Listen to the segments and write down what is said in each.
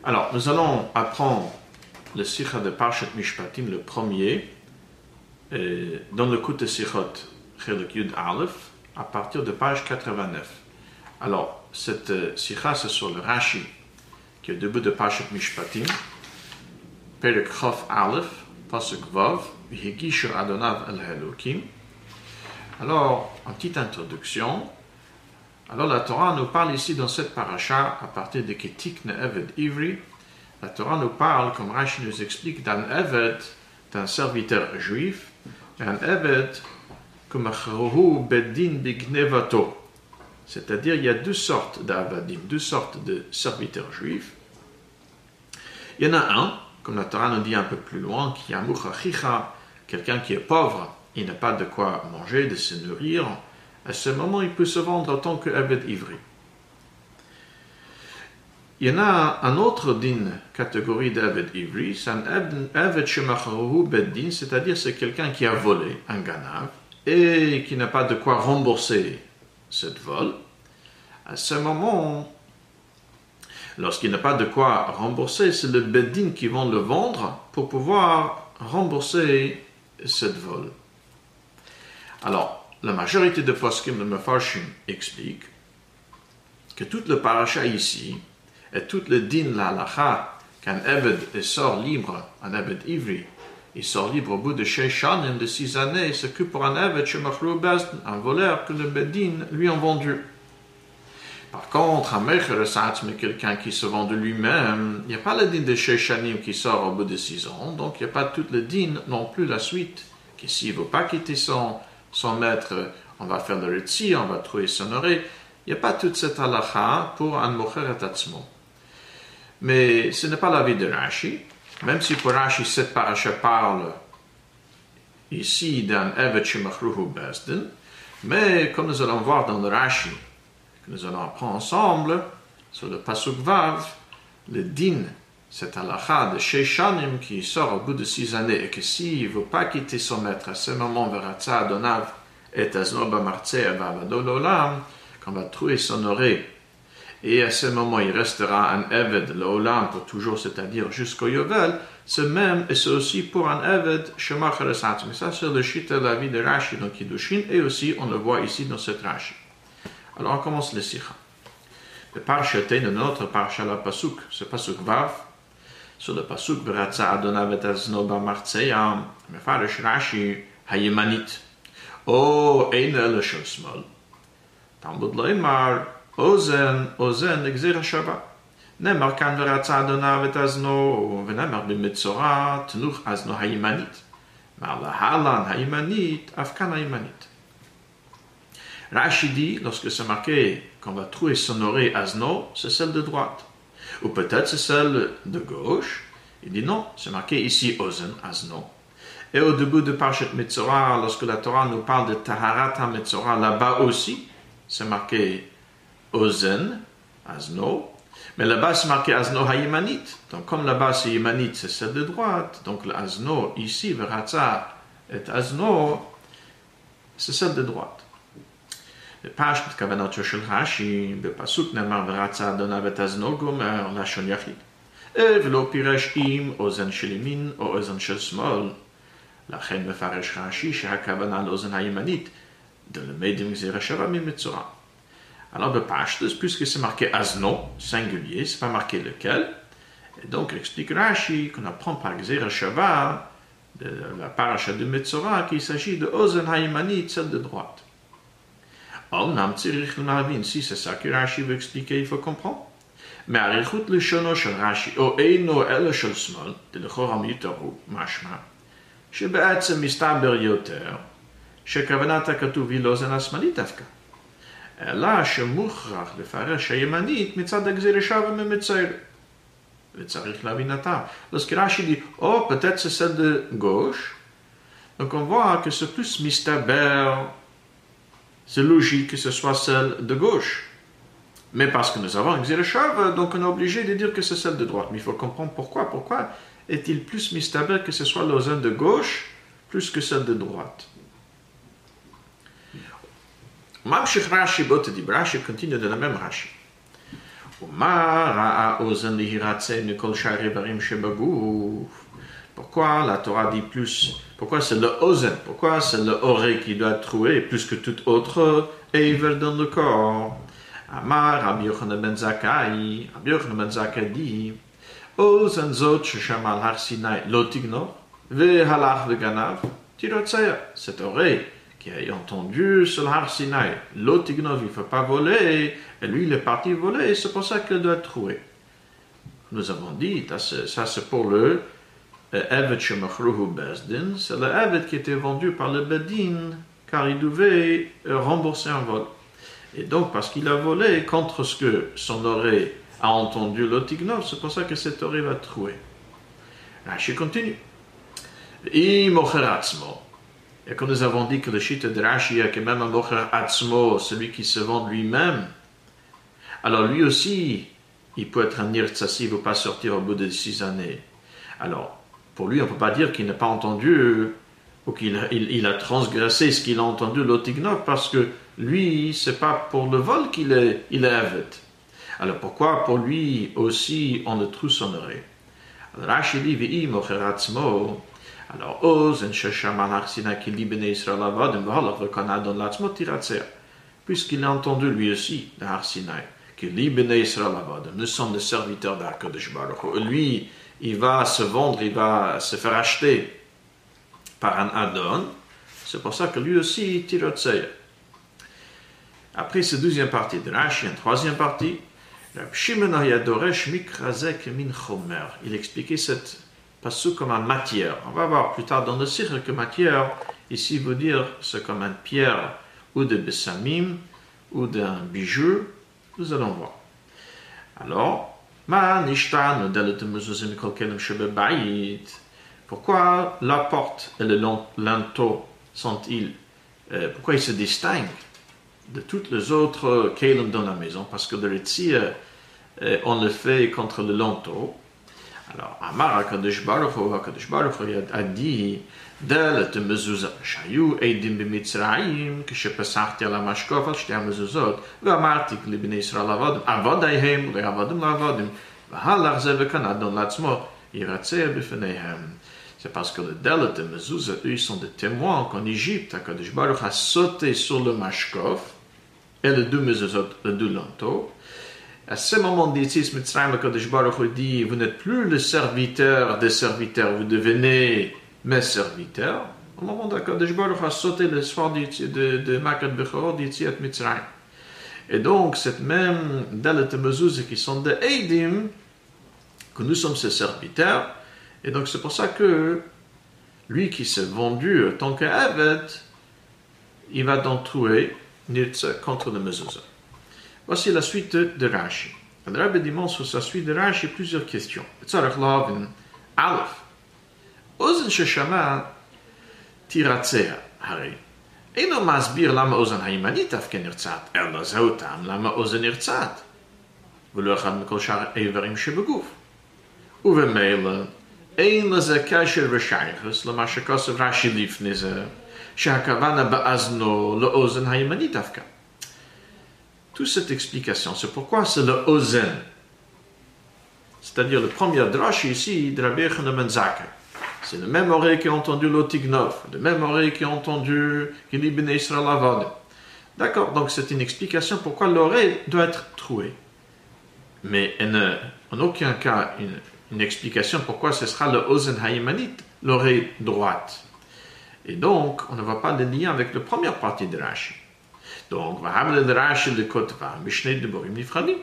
Alors, nous allons apprendre le Sikha de Parshat Mishpatim, le premier, dans le coup de Sikhot Chelik Yud Aleph, à partir de page 89. Alors, cette Sikha, c'est sur le Rashi, qui est au début de Parshat Mishpatim, Perek Chof Aleph, Pasuk Vav, Higishu Adonav El Elokim. Alors, en petite introduction, alors la Torah nous parle ici dans cette paracha, à partir de Ketik Eved Ivri, la Torah nous parle, comme Rashi nous explique, d'un Eved, d'un serviteur juif, et un Eved comme Achrohu Bedin Bignevato. C'est-à-dire, il y a deux sortes d'Avadim, deux sortes de serviteurs juifs. Il y en a un, comme la Torah nous dit un peu plus loin, qui est un Muchachicha, quelqu'un qui est pauvre, il n'a pas de quoi manger, de se nourrir. À ce moment, il peut se vendre en tant qu'Eved Ivri. Il y en a un autre d'une catégorie d'Eved Ivri, c'est un Eved Shemacharohu Beddin, c'est-à-dire c'est quelqu'un qui a volé un ganav et qui n'a pas de quoi rembourser cette vol. À ce moment, lorsqu'il n'a pas de quoi rembourser, c'est le Beddin qui vont le vendre pour pouvoir rembourser cette vol. Alors, la majorité de poskim de Mefarshim explique que toute le paracha ici, et tout le din la halacha, qu'un Eved sort libre, un Eved Ivri, il sort libre au bout de 6 années, de 6 années, c'est que pour un Eved Shemachlu Bezdin, un voleur que le Bedin lui a vendu. Par contre, un Mecher Satz, mais quelqu'un qui se vend de lui-même, il n'y a pas le din de 6 années qui sort au bout de 6 ans, donc il n'y a pas tout le din non plus la suite, que s'il ne veut pas quitter son maître, on va faire le retzi, on va trouver son oreille. Il n'y a pas toute cette halakha pour un mocher et atzmo. Mais ce n'est pas l'avis de Rashi, même si pour Rashi, cette paracha parle ici d'un Eved Shemachruhu Bezdin, mais comme nous allons voir dans le Rashi, que nous allons apprendre ensemble, sur le Pasuk Vav, le din, cette halakha de Sheishanim qui sort au bout de 6 années et que s'il ne veut pas quitter son maître, à ce moment, Veratza Adonav et Aznoba Martzeh Avavadolam, qu'on va trouver son oreille. Et à ce moment, il restera un Eved, l'Olam, pour toujours, c'est-à-dire jusqu'au Yovel. C'est même, et c'est aussi pour un Eved, Shemachar Esatz. Mais ça, c'est le shita de la vie de Rashi dans Kiddushin, et aussi, on le voit ici dans cette Rashi. Alors, on commence le Sikha. Le Parshaté de notre Parsha la Pasuk, ce Pasuk Vav, sur le Pasuk, Beratza Adonav et Aznoba Martzeyam, Mefarish Rashi, Hayemanit. O, Eine le Shosmol. Talmud Leimar, Ozen, Exer Shaba. Nemar kan Beratza Adonav et Azno, Venemar Bimitzora, Tnuch Azno Hayemanit. Mar la Halan Hayemanit, Afkan Hayemanit. Rashi dit, lorsque c'est marqué qu'on va trouver son oreille Azno, c'est celle de droite. Ou peut-être c'est celle de gauche. Il dit non, c'est marqué ici Ozen, Azno. Et au début de Parshat Metzora, lorsque la Torah nous parle de Taharat HaMetzora, là-bas aussi, c'est marqué Ozen, Azno. Mais là-bas, c'est marqué Azno HaYemanit. Donc comme là-bas, c'est Yemanit, c'est celle de droite. Donc le Azno, ici, Veratza et Azno, c'est celle de droite. Le Pashut Kavanot Shel Rashi, בפסוק נאמר ורצה אדוניו את אזנו גומר לשון יחיד. ולא פירש אם אוזן של ימין או אוזן של שמאל. לכן מפרש רש"י שהכוונה לאוזן הימנית, דלמד עם גזירה שווה ממצורע. Alors, בפשטוס, puisque c'est marqué Azno, singulier, c'est pas marqué lequel, et donc il explique Rashi qu'on apprend par gzera shava de la paracha de Metzora qu'il s'agit de Ozen Hayemanit, celle de droite. Si c'est ça que Rashi veut expliquer, il faut comprendre. Mais Arichut Lishono shel Rashi, o Eino Ele shel Smol, de l'Choram Yitaru, Mashma, שבעצם מסתבר יותר, שכוונת הכתוב היא לאוזן השמאלית דווקא. אלא שמוכרח לפרש הימנית מצד הגזירה שווה ממצר. וצריך להבינתה. Lorsque Rashi dit, oh, peut-être c'est celle de gauche, donc on voit que c'est plus mistaber. C'est logique que ce soit celle de gauche. Mais parce que nous avons une Xereshov, donc on est obligé de dire que c'est celle de droite. Mais il faut comprendre pourquoi. Pourquoi est-il plus mistaber que ce soit l'ozen de gauche plus que celle de droite? Mamshich Rashi Botedi, Rashi continue de la même Rashi. Pourquoi la Torah dit plus? Pourquoi c'est le ozen? Pourquoi c'est le oreille qui doit être troué plus que tout autre éver dans le corps? Amar Rabbi Yochanan ben Zakkai, Rabbi Yochanan ben Zakkai dit, ozen zot shesham al har Sinai lo tignov vehalach veganav tirotzeya. Cette oreille qui a entendu sur le har Sinai lo tignov, il ne faut pas voler, et lui il est parti voler, c'est pour ça qu'il doit être troué. Nous avons dit, ça c'est pour le Eved shemachruhu bezdin, c'est le Eved qui était vendu par le Bedin, car il devait rembourser un vol. Et donc, parce qu'il a volé contre ce que son oreille a entendu l'otignov, c'est pour ça que cette oreille va trouver. Rashi continue. Et quand nous avons dit que le shita de Rashi est que même un mocher atzmo, celui qui se vend lui-même, alors lui aussi, il peut être un nirtsasi, il ne veut pas sortir au bout de 6 années. Alors, pour lui, on ne peut pas dire qu'il n'a pas entendu ou qu'il a transgressé ce qu'il a entendu l'otignov, parce que lui, c'est pas pour le vol qu'il est aved. Alors pourquoi pour lui aussi on le trouve son oreille? Alors Rashi dit v'i mocheratzmo. Alors oz en shesham al har Sinai ki li bnei Israël avadim v'halach v'kanadon latzmo tiratzeh. Puisqu'il a entendu lui aussi le har Sinai que li bnei Israël avadim, nous sommes des serviteurs d'Hakadosh Baruch Hu. Lui, il va se vendre, il va se faire acheter par un Adon. C'est pour ça que lui aussi tiratzeh. Après cette deuxième partie de Rashi, une troisième partie, il expliquait cette passage comme une matière. On va voir plus tard dans le sire que matière, ici veut dire c'est comme une pierre ou de bessamim ou d'un bijou. Nous allons voir. Alors, pourquoi la porte et le linteau sont-ils, pourquoi ils se distinguent de toutes les autres kelim dans la maison? Parce que le ritzir, on le fait contre le linteau. Alors, Amar HaKadosh Baruch Hu a dit, Del et mezuzah shayu eidim b'mitzrayim כשפסחתי על המשקוף על שתי המזוזות ואמרתי לבני ישראל עבדיהם לעבדים לעבדים והלך זה וקנה אדון לעצמו ירצה בפניהם. C'est parce que le Del et mezuzah, eux, ils sont des témoins qu'en Égypte, HaKadosh Baruch a sauté sur le mashkof et les deux mezuzot, les deux linteaux. À ce moment d'Yitzis Mitzrayim, HaKadosh Baruch Hu dit, vous n'êtes plus le serviteur des serviteurs, vous devenez mes serviteurs. Au moment d'HaKadosh Baruch Hu a sauté le soir de Makat Bechorot d'Yitziat Mitzrayim. Et donc, cette même Dalet et Mezuzah qui sont des Eidim, que nous sommes ses serviteurs, et donc c'est pour ça que lui qui s'est vendu en tant qu'Aved, il va donc trouver Nirtza contre le Mezuzah. Voici la suite de Rashi. Le Rabbi demande sur sa suite de Rashi plusieurs questions. Tzarech lavin Aleph. Ozen sheshama tiratzea הרי אינו מסביר למה אוזן הימנית אף כן נרצעת, אלא זהו טעם למה אוזן נרצעת, ולא אחד מכל שאר האיברים שבגוף. ובמילא אין לזה קשר ושייכות למה שכתב רש"י לפני זה, שהכוונה באזנו לאוזן הימנית דווקא. Toute cette explication, c'est pourquoi c'est le ozen. C'est-à-dire le premier drash ici de Rabbi Yochanan ben Zakkai. C'est le même oreille qui a entendu l'otignov, le même oreille qui a entendu qu'il ibn Israël avad. D'accord, donc c'est une explication pourquoi l'oreille doit être trouée. Mais en aucun cas une explication pourquoi ce sera le ozen haïmanit, l'oreille droite. Et donc, on ne voit pas de lien avec la première partie de Rashi. Donc, והמל לרש"י לכותבה משני דיבורים נפרדים.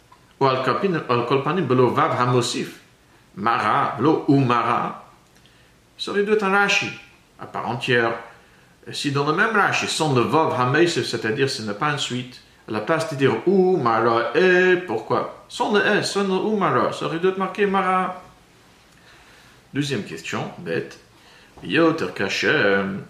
ועל כל פנים בלא וו המוסיף מרה, לא ומרה, ça aurait dû être un Rashi à part entière. Si dans le même Rashi, sans le vav hamesif, c'est-à-dire ce n'est pas une suite, à la place de dire ou mara et pourquoi? Sans le et, sans le ou mara, ça aurait dû être marqué mara. Deuxième question, bête. Yoter kashem.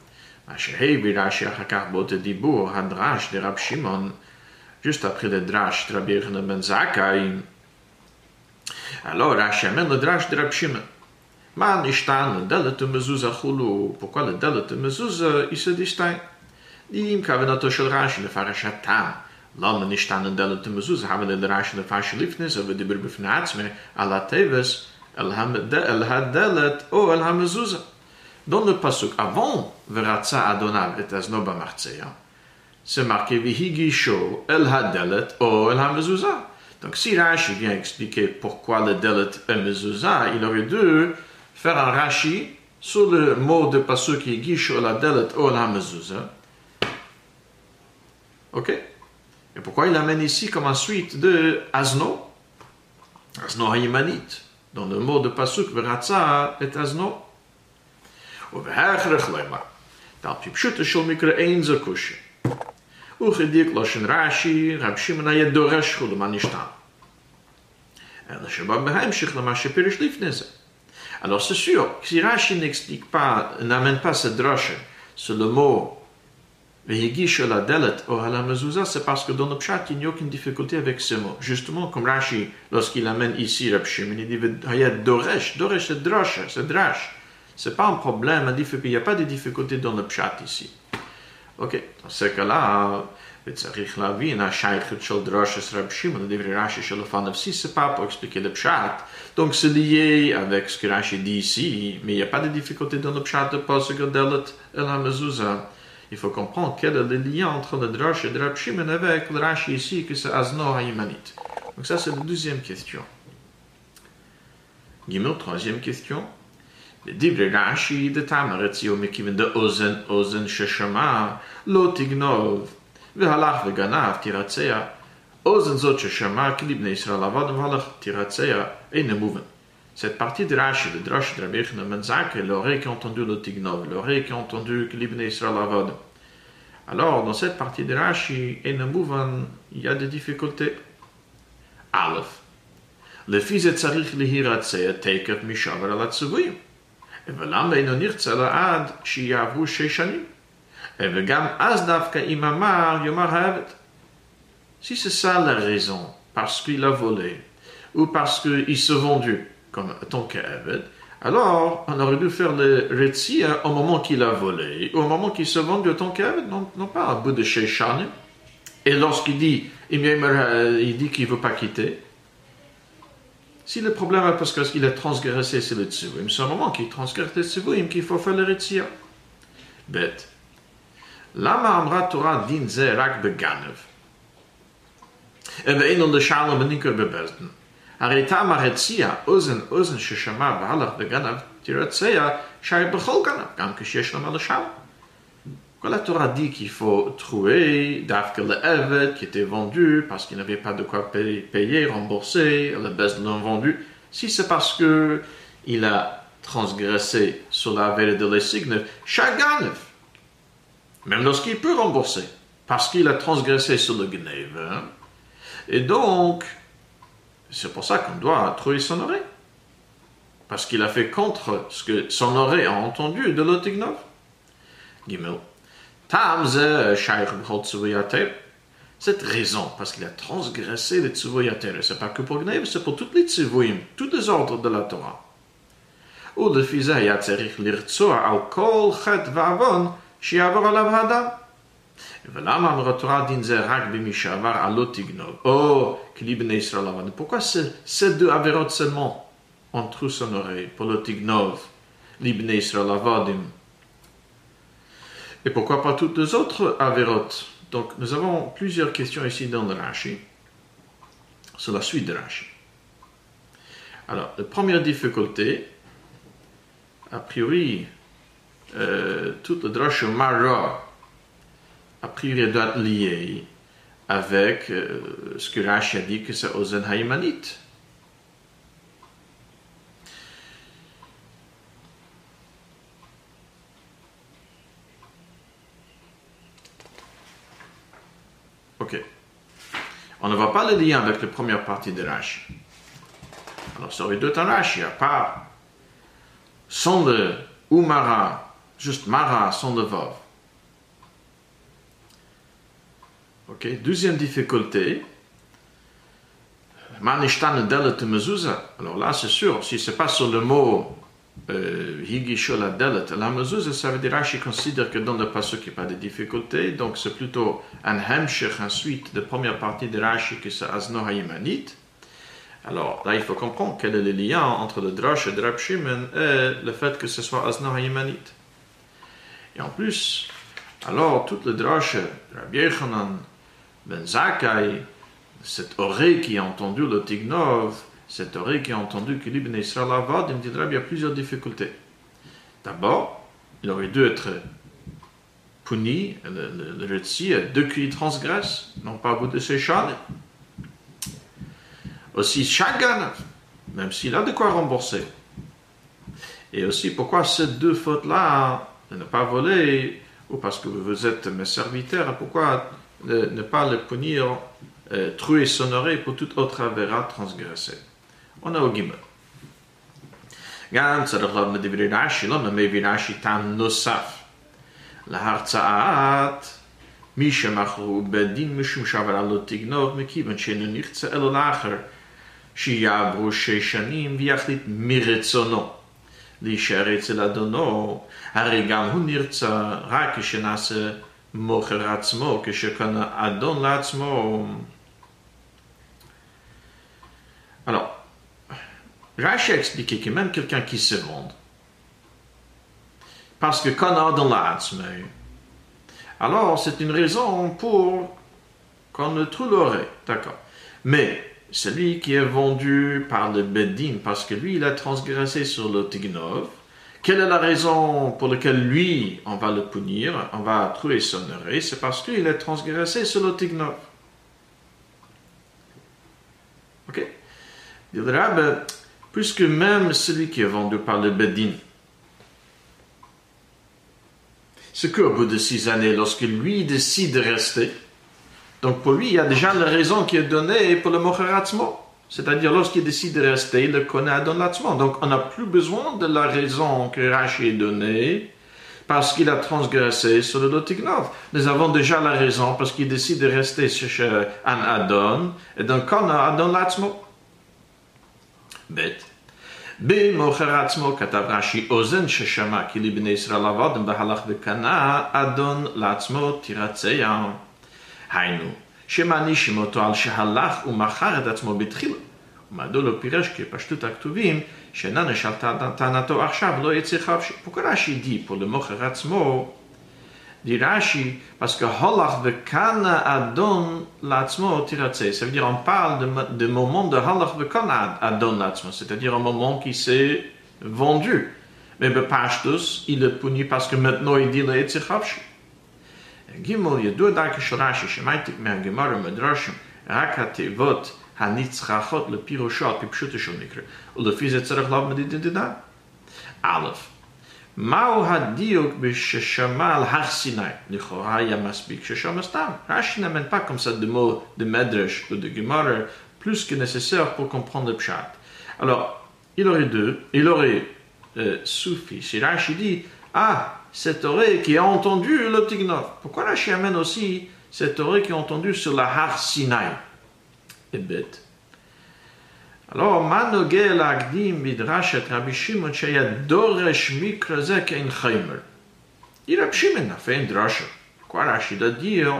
Juste après le drash de Rabbi Yochanan ben Zakkai, alors Rashi amène le drash de Rabbi Shimon. Man ishtan le dalet mezuzah chulu. Pourquoi le dalet mezuzah il se distingue? Dim kavanato shel Rashi lefarashatam למה נשתנה דלת המזוזה, אבל לרש"י לפרש לפני זה ודיבר בפני עצמי על הטבס, אל הדלת או אל המזוזה. Dans le pasuk, avant ורצה אדוניו את אזנו במחציה, c'est marqué Vihigisho el hadelet o el hamezuzah. Donc si Rashi vient expliquer pourquoi le delet et mezuzah, il aurait dû faire un Rashi sur le mot de pasuk Higisho el hadelet o el hamezuzah. Ok? Et pourquoi il l'amène ici comme en suite de Azno? Azno hayimanit. Dans le mot de pasuk Veratza et Azno. ובהכרח למה, דל פשוטו של מקרא אין זו קושיה. וכדיק לשון רש"י, רב שמעון היה דורש כולו מה נשתנה. אלא שבא בהמשך למה שפירש לפני זה. Alors c'est sûr, si Rashi n'explique pas, n'amène pas cette drache sur le mot Vehigish la delet ou la mezuzah, c'est parce que dans le pshat, il n'y a aucune difficulté avec ce mot. Justement, comme Rashi, lorsqu'il amène ici Rab Shimon, il dit Hayat doresh, doresh c'est drache, c'est drache. C'est pas un problème, il n'y a pas de difficulté dans le pshat ici. Ok, dans ce cas-là, וצריך להבין, השייכות של דרשת רב שמעון לדברי רש"י של לפניו, si c'est pas pour expliquer le pshat, donc c'est lié avec ce que Rashi dit ici, mais il n'y a pas de difficulté dans le pshat de pasuk delet el hamezuzah. Il faut comprendre quel est le lien entre le drasha de Rab Shimon avec le Rashi ici, que c'est Azno hayimanit. Donc ça c'est la deuxième question. Gimel, troisième question. בדברי רש"י דתמר הציעו מכיוון דאוזן אוזן ששמע לא תגנוב והלך וגנב תירצע אוזן זאת ששמע כי לבני ישראל עבד והלך תירצע אינו מובן. Cette partie de Rashi, le drash de Rabbi Yochanan ben Zakkai, l'oreille qui a entendu le tignov, l'oreille qui a entendu que l'Ibn Israël avad. Alors, dans cette partie de Rashi, אינו מובן, il y a des difficultés. Aleph, לפי זה צריך להירצע תקף משבר על הציוויים. ולמה אינו נרצה לעד שיעברו 6 שנים? וגם אז דווקא אם אמר יאמר העבד. Si c'est ça la raison, parce qu'il a volé, ou parce qu'il s'est vendu comme tant qu'aved, alors on aurait dû faire le retzia au moment qu'il a volé, ou au moment qu'il s'est vendu tant qu'aved, non pas au bout de 6 shanim. Et lorsqu'il dit, il dit qu'il ne veut pas quitter, si le problème est parce qu'il a transgressé sur le tzivuim, c'est au moment qu'il transgresse le tzivuim qu'il faut faire le retzia. Bet. Lama amra Torah din ze rak beganev. ואין לשאלה בניקר בבזדן. הרי טעם הרציע, אוזן ששמע והלך וגנב, תרצע שי בכל גנב, גם כשיש למה לשאלה. Quand la Torah dit qu'il faut trouver d'Afka le Eved qui était vendu parce qu'il n'avait pas de quoi payer, rembourser, le Bezdin l'ont vendu, si c'est parce que il a transgressé sur la vérité de l'Esigne, Shaganev, même lorsqu'il peut rembourser, parce qu'il a transgressé sur le Gnev. Hein? Et donc, c'est pour ça qu'on doit trouver son oreille. Parce qu'il a fait contre ce que son oreille a entendu de l'Otignov. Gimel. Cette raison, parce qu'il a transgressé les tzivuyater, c'est pas que pour Gnev, c'est pour toutes les tzivuyim, tous les ordres de la Torah. Ou le fils היה צריך לרצוע על כל חטא ועוון שיעבור עליו האדם. ולמה אמרה תורה דין זה רק במי שעבר על לא תגנוב, או כלי בני ישראל עבד. Pourquoi ces deux avérotes seulement ont trouvé son oreille pour le tignov, l'ibn Israël avadim? Et pourquoi pas toutes les autres avérotes? Donc, nous avons plusieurs questions ici dans le Rashi, sur la suite de Rashi. Alors, la première difficulté, a priori, toute le drash Mara, a priori, doit être lié avec ce que Rashi a dit que c'est Ozen Haïmanit. Ok. On ne voit pas le lien avec la première partie de Rashi. Alors, ça aurait dû être un Rashi, à part sans le ou Mara, juste Mara sans le Vav. Ok. Deuxième difficulté. Manishtan delet mezuzah. Alors là, c'est sûr, si c'est pas sur le mot Higisho la delet la mezuzah, ça veut dire Rashi considère que dans le pasuk il n'y a pas de difficulté, donc c'est plutôt un hemshech, ensuite de première partie de Rashi que c'est Azno Hayimanit. Alors là il faut comprendre quel est le lien entre le drash de Rab Shimon et le fait que ce soit Azno Hayimanit. Et en plus, alors tout le drash de Rabbi Yochanan ben Zakkai, cette oreille qui a entendu le Tignov, cette oreille qui a entendu que l'Ibn Israël Avad, il me dira qu'il y a plusieurs difficultés. D'abord, il aurait dû être puni, le Retzi, deux qui transgressent, non pas au bout de ses chânes. Aussi, chaque ganav, même s'il a de quoi rembourser. Et aussi, pourquoi ces deux fautes-là, de ne pas voler, ou parce que vous êtes mes serviteurs, pourquoi ne pas le punir, trouer son oreille pour toute autre avéra transgressée. On a au gimel. גם צריך ללמוד מדברי רש"י, לא מביא רש"י טעם נוסף להרצאת מי שמכרו בדין משום שעברה לא תגנוב, מכיוון שאינו נחצה אלא לאחר שיעברו 6 שנים ויחליט מרצונו להישאר אצל אדונו, הרי גם הוא נרצה רק כשנעשה מוכר עצמו, כשקנה אדון לעצמו. Alors, Rashi a expliqué que même quelqu'un qui se vend, parce que quand on a dans l'Atzmei, alors c'est une raison pour qu'on ne trouve l'oreille, d'accord. Mais celui qui est vendu par le Beddin, parce que lui il a transgressé sur le Tignov, quelle est la raison pour laquelle lui on va le punir, on va trouver son oreille, c'est parce qu'il a transgressé sur le Tignov. Ok? Il dira, puisque même celui qui est vendu par le Beddin, c'est qu'au bout de 6 années, lorsque lui décide de rester, donc pour lui, il y a déjà la raison qui est donnée pour le Mocher Atzmo. C'est-à-dire, lorsqu'il décide de rester, il le connaît Adon Latzmo. Donc, on n'a plus besoin de la raison que Rashi est donnée parce qu'il a transgressé sur le Lotignov. Nous avons déjà la raison parce qu'il décide de rester chez un Adon, et donc on a Adon Latzmo. ב' במוכר עצמו כתב רש"י אוזן ששמע כי לבני ישראל עבדם והלך וקנה אדון לעצמו תירצע. היינו שמענישים אותו על שהלך ומכר את עצמו בתחילה. ומדוע לא פירש כפשטות הכתובים שנענש על טענתו עכשיו לא יצא חופשי. Pourquoi רש"י dit pour le מוכר עצמו? Dit Rashi, parce que halach vekana adon l'atzmo tiratse. Ça veut dire, on parle de moment de halach vekana adon l'atzmo, c'est-à-dire un moment qui s'est vendu. Mais bepashtus, il est puni parce que maintenant il dit le etzichavshi. Gimel, yedua darke shel Rashi, shemaitik me'agemara medrashim, rak hatevot hanitzchachot lepiroshot, pipshute shel mikra. ולפי זה צריך ללמוד מדינא. א', מהו הדיוק בששמע על הר סיני? לכאורה היה מספיק ששמע סתם. רש"י n'amène pas comme ça de mots de Medrash ou de Gemara plus que nécessaire pour comprendre le pshat. Alors, il aurait suffi si Rashi dit cette oreille qui a entendu le Tignov. Pourquoi Rashi amène aussi cette oreille qui a entendu sur la har Sinai? Et bête. Alors, מה נוגע להקדים מדרשת רבי שמעון שהיה דורש מקרא זה כאין חיימר? רבי שמעון a fait une drasha. Quoi Rashi doit dire,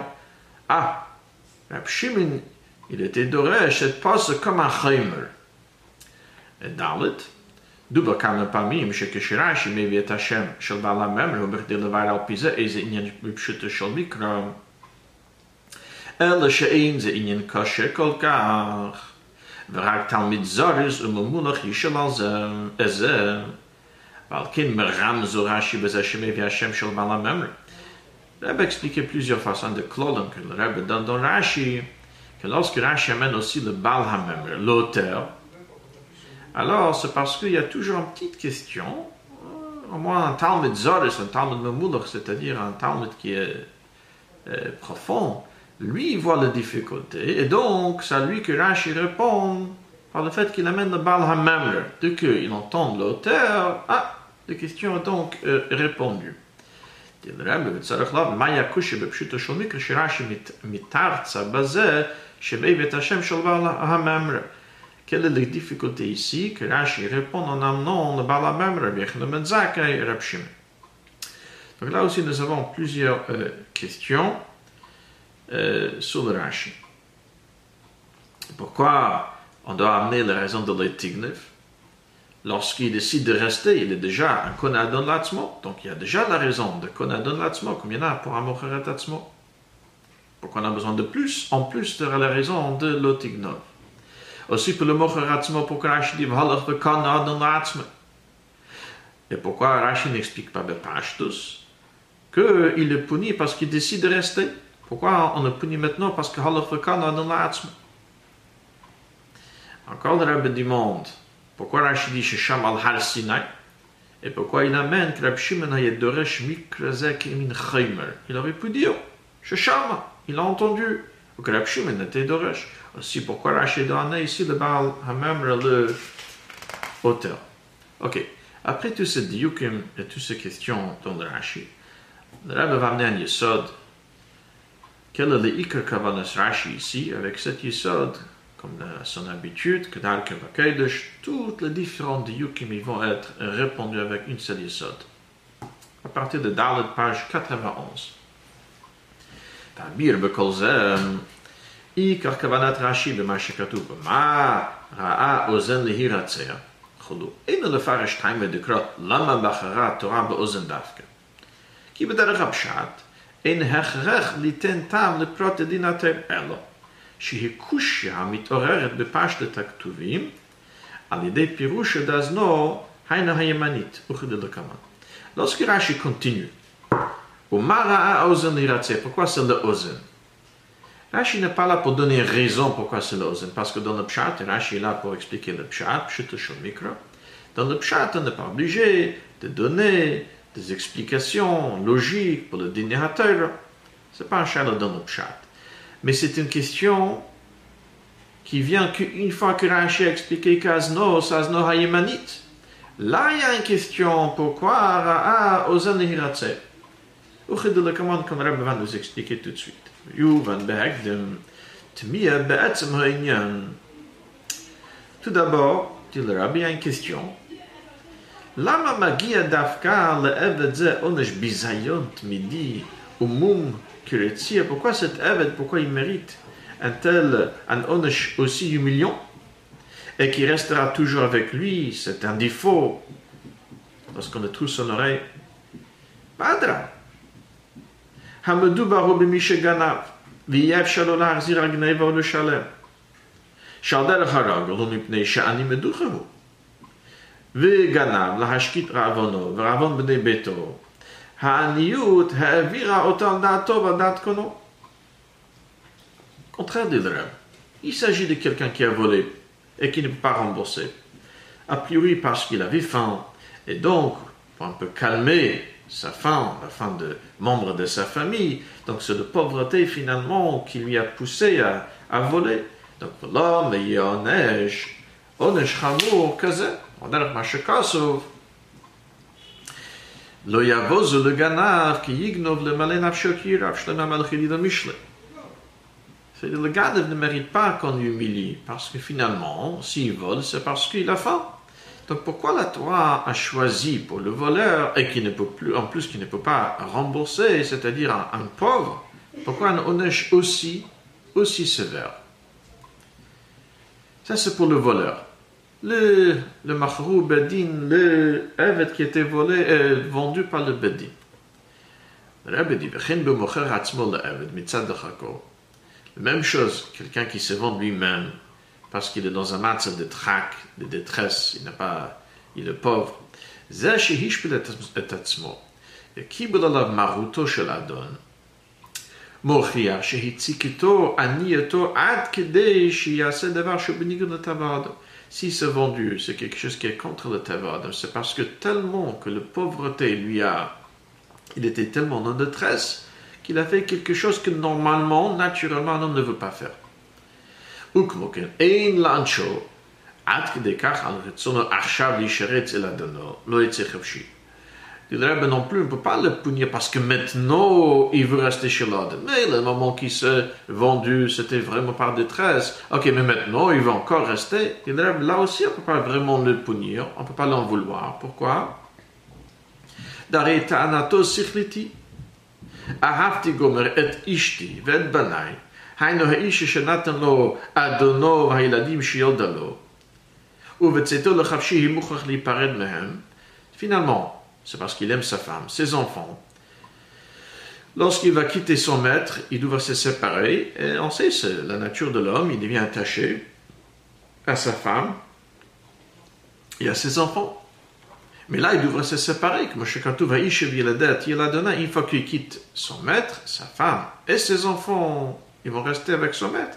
Rabbi Shimon, il était דורש cette passe comme un חיימר. Et ד' דובר כמה פעמים שכשרש"י מביא את השם של בעל הממר, הוא בכדי לבאר על פי זה איזה עניין בפשוטו של מקרא, אלא שאין זה עניין קשה כל כך. ורק תלמיד זריז וממולך ישאל על זה, ועל כן מרמזו רש"י בזה שמביא השם של בעל הממר. Le Rebbe expliquait plusieurs façons de clodon que le Rebbe donne dans Rashi, que lorsque Rashi amène aussi le Baal HaMemre, l'auteur, alors c'est parce qu'il y a toujours une petite question, au moins un Talmud Zoris, un Talmud Memulach, c'est-à-dire un Talmud qui est profond, lui, il voit la difficulté, et donc, c'est à lui que Rashi répond par le fait qu'il amène le Baal HaMemre. Dès qu'il entend l'auteur, la question est donc répondue. Le Rebbe וצריך להבין, מה יקושי בפשוטו של מקרא שרש"י מתרצה בזה שמביא את השם של בעל הממרה. Quelle est la difficulté ici? Que Rashi répond en amenant le Balamem, Rabbi Yochanan ben Zakkai et Rabbi Shimon. Donc là aussi, nous avons plusieurs questions sur le Rashi. Pourquoi on doit amener la raison de l'Etignef? Lorsqu'il décide de rester, il est déjà un Konadon Latzmo, donc il y a déjà la raison de Konadon Latzmo, comme il y en a pour un Mocheret Atzmo. Pourquoi on a besoin de plus, en plus de la raison de l'Otignov? Aussi pour le Mocheret Atzmo, pourquoi Rashi dit V'halach v'Konadon Latzmo? Et pourquoi Rashi n'explique pas Bepashtus qu'il est puni parce qu'il décide de rester? Pourquoi on le punit maintenant parce que Halach v'Konadon Latzmo? Encore le Rabbi demande pourquoi Rashi dit Shesham al Har Sinai et pourquoi il amène que Rabbi Shimon hayet doresh mikrazek min chaymer. Il aurait pu dire Shesham, il a entendu, ou que Rabbi Shimon était doresh. Aussi pourquoi Rashi doit amener ici le Baal Hamamra, le auteur. Ok, après tous ces diukim et toutes ces questions dans le Rashi, le Rabbi va amener un yesod. Quel est le Iker Kavanas Rashi ici avec cet yesod? Comme à son habitude, que dans le Kavakedesh, toutes les différentes diukim vont être répondues avec une seule yesod. À partir de Dalet, page 91. Tabir bekol zem, Ikar kavanat Rashi b'ma shekatuv b'ma ra'a ozen lehiratzeh. Cholu, אין לפרש טיימה דקרות למה בחרה תורה באוזן דווקא. כי בדרך הפשט, אין הכרח ליתן טעם לפרוט הדין התר, אלא שהיא קושיה המתעוררת בפשטת הכתובים, על ידי פירוש דאזנו היינה הימנית, וכדלקמן. Lorsque Rashi continue, ומה ראה האוזן להירצה? Pourquoi c'est le ozen? Rashi n'est pas là pour donner raison pourquoi c'est le ozen, parce que dans le pshat, Rashi est là pour expliquer le pshat, pshat shel mikra. Dans le pshat, on n'est pas obligé de donner des explications logiques pour le dîner à terre. Ce n'est pas un chalot dans le pshat. Mais c'est une question qui vient qu'une fois que Rashi a expliqué qu'Azno hayemanit. Là, il y a une question, pourquoi Ra'a ozen lehiratze? Comment le Rebbe va nous expliquer tout de suite. Tout d'abord, dit le Rabbi, il y a une question. Lama magia dafka le'eved ze onesh bizayon tmidi umum kiretzia? Pourquoi cet eved, pourquoi il mérite un onesh aussi humiliant et qui restera toujours avec lui? C'est un défaut lorsqu'on le trouve son oreille. Padra. המדובר הוא במי שגנב, ויהיה אפשר לו להחזיר על גנבו לשלם. שעל דרך הרגל הוא מפני שאני מדוחה הוא. וגנב להשקיט רעבונו ורעבון בני ביתו. העניות העבירה אותו על דעתו ועל דעת קונו. Contraire de l'Arab. Il s'agit de quelqu'un qui a volé et qui ne peut pas rembourser. A priori parce qu'il avait faim. Et donc, pour un peu calmer sa faim, la faim de membres de sa famille. Donc c'est de pauvreté finalement qui lui a poussé à voler. Donc l'homme est onesh chamur kaze. On a le mashakasov. Lo yavoz le ganav ki yignov le malen avshokir avshlema malchili de mishle. C'est-à-dire le ganav ne mérite pas qu'on l'humilie parce que finalement, s'il vole, c'est parce qu'il a faim. Donc pourquoi la Torah a choisi pour le voleur et qui ne peut plus, en plus qui ne peut pas rembourser, c'est-à-dire un pauvre, pourquoi un onesh aussi sévère? Ça c'est pour le voleur. Le machrou bedin, le evet qui était volé, vendu par le bedin. Le Rebbe dit, la même chose, quelqu'un qui se vend lui-même, parce qu'il est dans un match de trac, de détresse, il est pauvre. זה שהשפיל את עצמו, וקיבל עליו מרותו של אדון, מוכיח שהציקתו, ענייתו, עד כדי שיעשה דבר שבניגוד לטבע האדם. Si c'est vendu, c'est quelque chose qui est contre le טבע האדם, c'est parce que tellement que la pauvreté il était tellement en détresse, qu'il a fait quelque chose que normalement, naturellement, un homme ne veut pas faire. וכמו כן, אין לאנשו, עד כדי כך על רצונו עכשיו להישרץ אל אדונו, לא יצא חופשי. Dit le Rebbe non plus, on ne peut pas le punir parce que maintenant il veut rester chez l'autre. Mais le moment qu'il s'est vendu, c'était vraiment par détresse. Ok, mais maintenant il veut encore rester. Dit le Rebbe, là aussi on ne peut pas vraiment le punir, on ne peut pas l'en vouloir. Pourquoi? D'arrêt ta'anato sichliti. Ahavti gomer et ishti ve'et banai. Hainu ha'ish shenatan lo adono v'ha'iladim shiyoda lo. Uvetzeto lechavshi himuchach lipared mehem. Finalement, c'est parce qu'il aime sa femme, ses enfants. Lorsqu'il va quitter son maître, il doit se séparer. Et on sait, c'est la nature de l'homme, il devient attaché à sa femme et à ses enfants. Mais là, il devrait se séparer. Une fois qu'il quitte son maître, sa femme et ses enfants, ils vont rester avec son maître.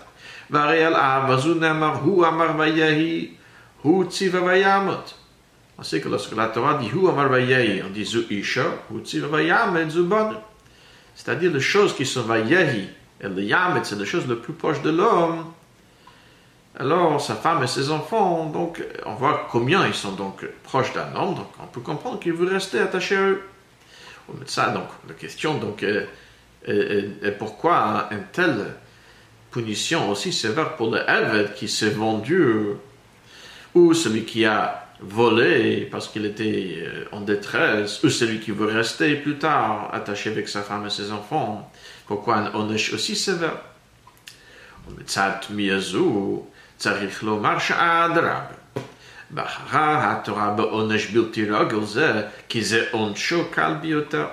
On sait que lorsque la Torah dit Hu Amar Vayehi, on dit Zu Isha, Hu Tziva Vayamet Zu Banu. C'est-à-dire les choses qui sont Vayehi et le Yamet, c'est les choses les plus proches de l'homme. Alors, sa femme et ses enfants, donc, on voit combien ils sont donc proches d'un homme, donc on peut comprendre qu'il veut rester attaché à eux. Mais ça, donc, la question, donc, est pourquoi une telle punition aussi sévère pour le Eved qui s'est vendu, ou celui qui a volé parce qu'il était en détresse, ou celui qui veut rester plus tard attaché avec sa femme et ses enfants. Pourquoi un onesh aussi sévère? ומצד מיזו צריך לומר שאדרבה. בחרה התורה בעונש בלתי רגיל זה, כי זה עונשו קל ביותר.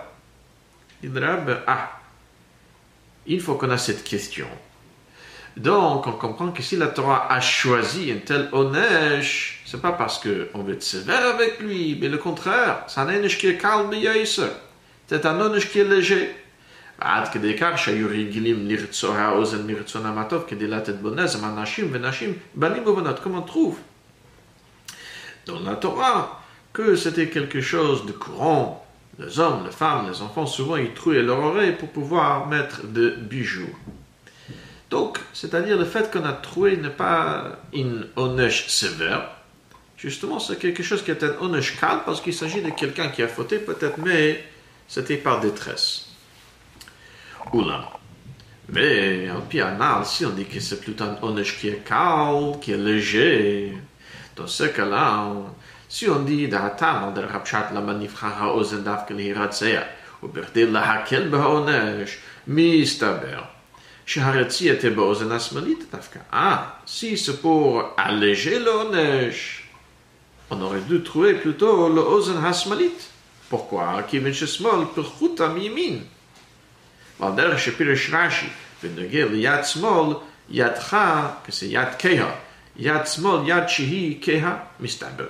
Il faut qu'on a cette question. Donc, on comprend que si la Torah a choisi un tel onesh, c'est pas parce qu'on veut être sévère avec lui, mais le contraire, c'est un onesh qui est calme et c'est un onesh qui est léger. עד כדי כך שהיו רגילים לרצוע האוזן מרצונם הטוב כדי לתת בו נזם אנשים ונשים, בנים ובנות, comme on trouve dans la Torah, que c'était quelque chose de courant. Les hommes, les femmes, les enfants, souvent ils trouaient leur oreille pour pouvoir mettre des bijoux. Donc, c'est-à-dire le fait qu'on a trouvé n'est pas une onesh sévère. Justement, c'est quelque chose qui est un onesh calme parce qu'il s'agit de quelqu'un qui a fauté peut-être, mais c'était par détresse. Oula. Mais, en pianal, si on dit que c'est plutôt un onesh qui est calme, qui est léger, dans ce cas-là, si on dit d'Hatam, de Rapchat la manifra ha'ozen davke l'hiratzea, ou berdil la hakel ba'onesh, mistaber, sheharetzi était ba'ozen asmalit davka. Ah, si c'est pour alléger l'onesh, on aurait dû trouver plutôt l'ozen hasmalit. Pourquoi? Kivin shesmol perchuta mimin. ועל דרך שפירש רש"י, ונוגע ליד שמאל, ידך, כזה יד כהה, יד שמאל, יד שהיא כהה, מסתבר.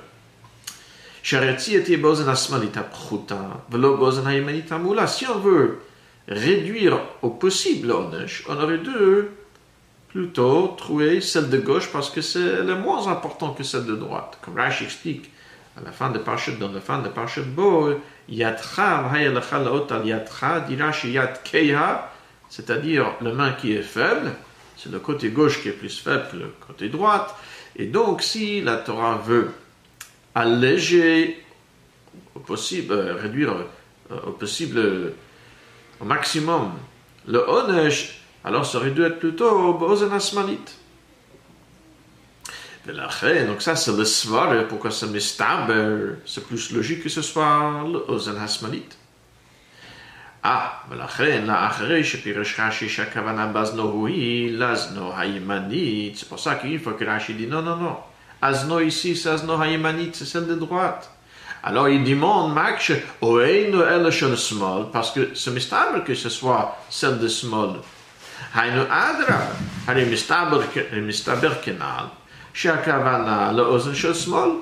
שהרצי תהיה באוזן השמאלית הפחותה, ולא באוזן הימנית המעולה. Si on veut réduire au possible l'onesh, on aurait dû plutôt trouver celle de gauche parce que c'est le moins important que celle de droite. Comme Rashi explique à la fin de Parashat, dans la fin de Parashat Bo, Yadcha v'hayelecha laot al yadcha, dit Rashi yad keiha, c'est-à-dire la main qui est faible, c'est le côté gauche qui est plus faible que le côté droite. Et donc, si la Torah veut alléger au possible, réduire au possible, au maximum, le onesh, alors ça aurait dû être plutôt b'ozen hasmalit. Donc ça c'est le svar, pourquoi c'est mistaber, c'est plus logique que ce soit l'ozen hasmalit. ולכן לאחרי שפירש רש"י שהכוונה באזנו היא לאזנו הימנית, c'est pour ça qu'il faut que Rashi dit non, azno ici c'est azno הימנית, c'est celle de droite. Alors il demande Maksh oeinu el shel small, parce que c'est mistaber que ce soit celle de small. Hainu adra, hari mistaber kenal. שהכוונה לאוזן של שמאל.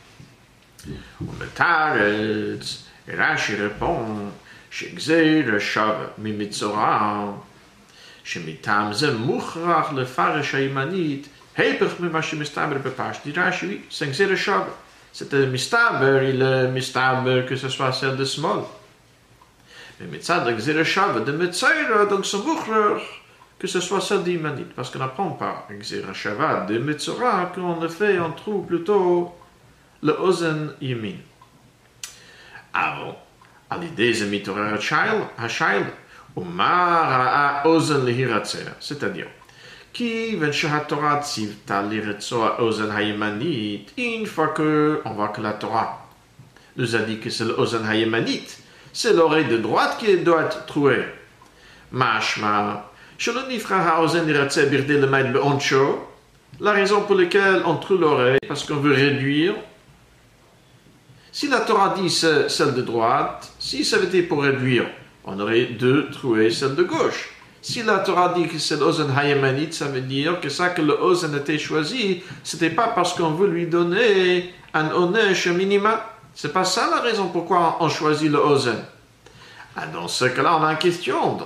ומתרץ, רש"י רפון, שגזיר שווה ממצורע, שמטעם זה מוכרח לפרש הימנית, היפך ממה שמסתבר בפשט. רש"י, c'est גזיר שווה. C'est מסתבר, il est מסתבר que ce soit celle de שמאל. ומצד הגזיר שווה דמצורע, donc c'est מוכרח, que ce soit celle d'Imanit, parce qu'on n'apprend pas Gzira Shavad de Metzora, qu'en effet on trouve plutôt le Ozen Yamin. Avant, על ידי זה מתעורר השיילה, ומה ראה אוזן להירצע, c'est-à-dire, כיוון שהתורה ציוותה לרצוע אוזן הימנית, une fois qu'on voit que la Torah nous a dit que c'est l'ozen הימנית, c'est l'oreille de droite qui doit être trouée. משמע, שלא נבחר האוזן לרצע בכדי למד בעונשו, la raison pour laquelle on trouve l'oreille, parce qu'on veut réduire. Si la Torah dit celle de droite, si ça avait été pour réduire, on aurait dû trouver celle de gauche. Si la Torah dit que c'est l'ozen hayemanite, ça veut dire que ça que le ozen a été choisi, c'était pas parce qu'on veut lui donner un onesh minima. C'est pas ça la raison pourquoi on choisit le ozen. Ah, dans ce cas-là, on a une question.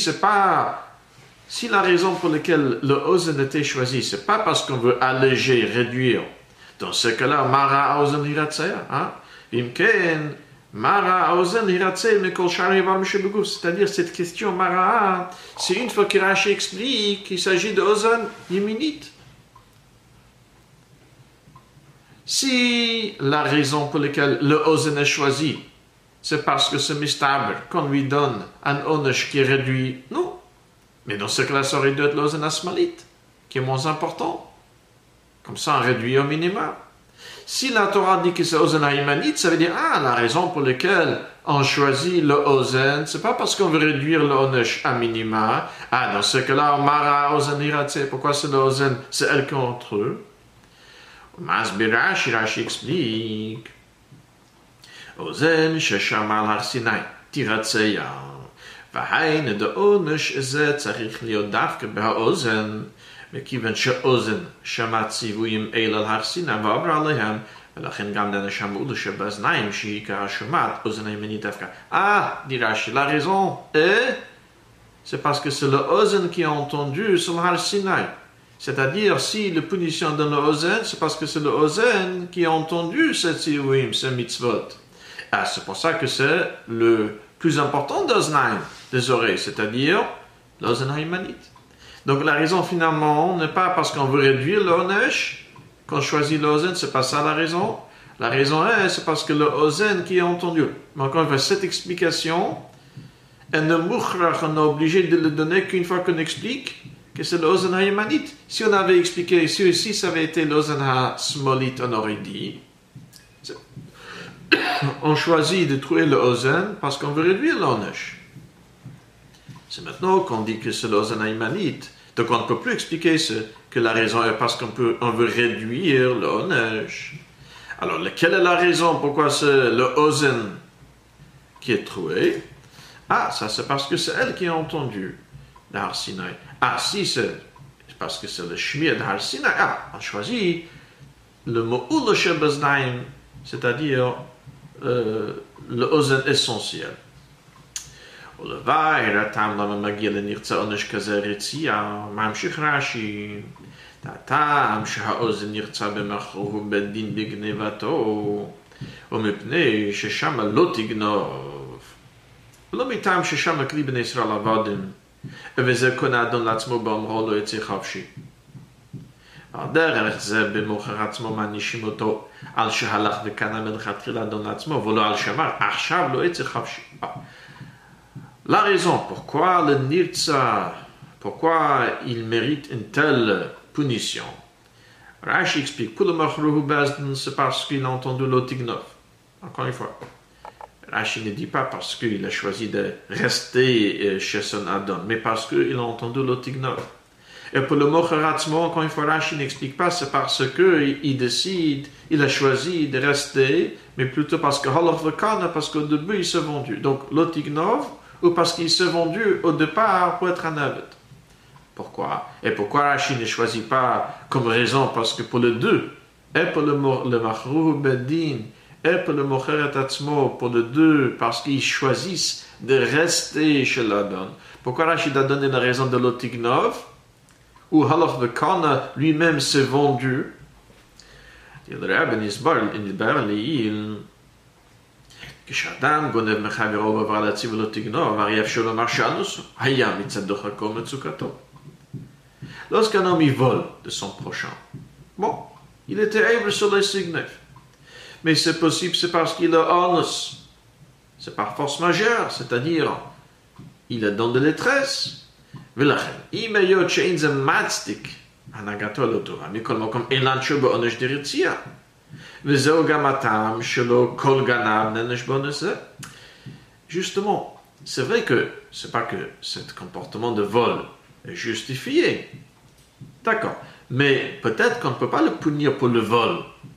Si la raison pour laquelle le ozen a été choisi, c'est pas parce qu'on veut alléger, réduire, dans ce cas-là, mara ozen hiratzea, hein? Imken, mara ozen hiratzea mekol shari bar mishebeguf. C'est-à-dire, cette question mara, c'est une fois que Rashi explique qu'il s'agit de ozen yeminite. Si la raison pour laquelle le ozen est choisi, c'est parce que ce mistaber, qu'on lui donne un onesh qui est réduit, non. Mais dans ce cas-là, ça aurait dû être l'ozen asmalite, qui est moins important. Comme ça, on réduit au minimum. Si la Torah dit que c'est ozen haïmanite, ça veut dire, la raison pour laquelle on choisit le ozen, c'est pas parce qu'on veut réduire le onesh à minima. Dans ce cas-là, mara ozen hiratse, pourquoi c'est le ozen, c'est elle contre eux. Rashi explique. אוזן ששמע על הר סיני, תירצע. והיינו דעונש זה צריך להיות דווקא בהאוזן, מכיוון שאוזן שמע ציוויים אל על הר סיני ועבר עליהם, ולכן גם לנשמעו שבאזניים שהיא השומעת, אוזן הימנית דווקא. dit Rashi, la raison est, c'est parce que c'est le ozen qui a entendu sur le har Sinai. C'est-à-dire, si la punition donne le ozen, c'est parce que c'est le ozen qui a entendu ce tzivouim, ce mitzvot. C'est pour ça que c'est le plus important d'oznaim, des oreilles, c'est-à-dire l'ozen haïmanite. Donc la raison finalement n'est pas parce qu'on veut réduire l'onesh qu'on choisit l'ozen, c'est pas ça la raison. La raison est, c'est parce que le ozen qui est entendu. Mais encore une fois, cette explication, on est obligé de le donner qu'une fois qu'on explique que c'est l'ozen haïmanite. Si on avait expliqué, si ça avait été l'ozen ha-smolit, on aurait dit. On choisit de trouver le ozen parce qu'on veut réduire l'onesh. C'est maintenant qu'on dit que c'est l'ozen haïmanite. Donc on ne peut plus expliquer que la raison est parce qu'on veut réduire l'onesh. Alors, quelle est la raison pourquoi c'est le ozen qui est trouvé? Ça c'est parce que c'est elle qui a entendu l'Har Sinai. Si c'est parce que c'est le shmir de Har Sinai, on choisit le mo'ul shebaznaim, c'est-à-dire le ozen essentiel. ולוואי הטעם למה מגיע לנרצה עונש כזה רצייה, ממשיך רש"י, הטעם שהאוזן נרצה במכרו בית דין בגניבתו, ומפני ששם לא תגנוב, ולא מטעם ששם כלי בני ישראל עבדים, וזה קונה אדון לעצמו באומרו לא יצא חופשי. על דרך זה במוכר עצמו מענישים אותו על שהלך וקנה מלכתחילה אדון לעצמו, ולא על שמר, עכשיו לא יצא חופשי. La raison pourquoi le nirtza, pourquoi il mérite une telle punition. Rashi explique, pour le machruhu bezdin, c'est parce qu'il a entendu l'otignov. Encore une fois, Rashi ne dit pas parce qu'il a choisi de rester chez son Adon, mais parce qu'il a entendu l'otignov. Et pour le mocharatzmo, encore une fois, Rashi n'explique pas, c'est parce qu'il décide, il a choisi de rester, mais plutôt parce que Holoch Vekana, parce qu'au début il s'est vendu. Donc l'otignov, ou parce qu'il s'est vendu au départ pour être un aved. Pourquoi? Et pourquoi Rashi ne choisit pas comme raison? Parce que pour les deux, et pour le Machrou Beddin, et pour le Mocheret Atzmo, pour les deux, parce qu'ils choisissent de rester chez l'Adon. Pourquoi Rashi a donné la raison de l'Otignov, où Haloch Vekana lui-même s'est vendu? Le Rabbi Nisbar, il כשאדם גונב מחברו ועבר להציב ולא תגנוב, הרי אפשר לומר שאנוס היה מצד דוחקו מצוקתו. Lorsqu'un homme il vole de son prochain, bon, il était able sur les signes. Mais c'est possible, c'est parce qu'il a anus. c'est par force majeure, c'est-à-dire, il est dans de détresse. ולכן, אם היות שאין זה מצדיק הנהגתו לא טובה, מכל מקום אילן שהוא בעונש דרצייה. וזהו גם הטעם שלו כל גנב נענש בעונש זה. Justement, c'est vrai que c'est pas que ce comportement de vol est justifié. D'accord. Mais peut-être qu'on ne peut pas le punir pour le vol.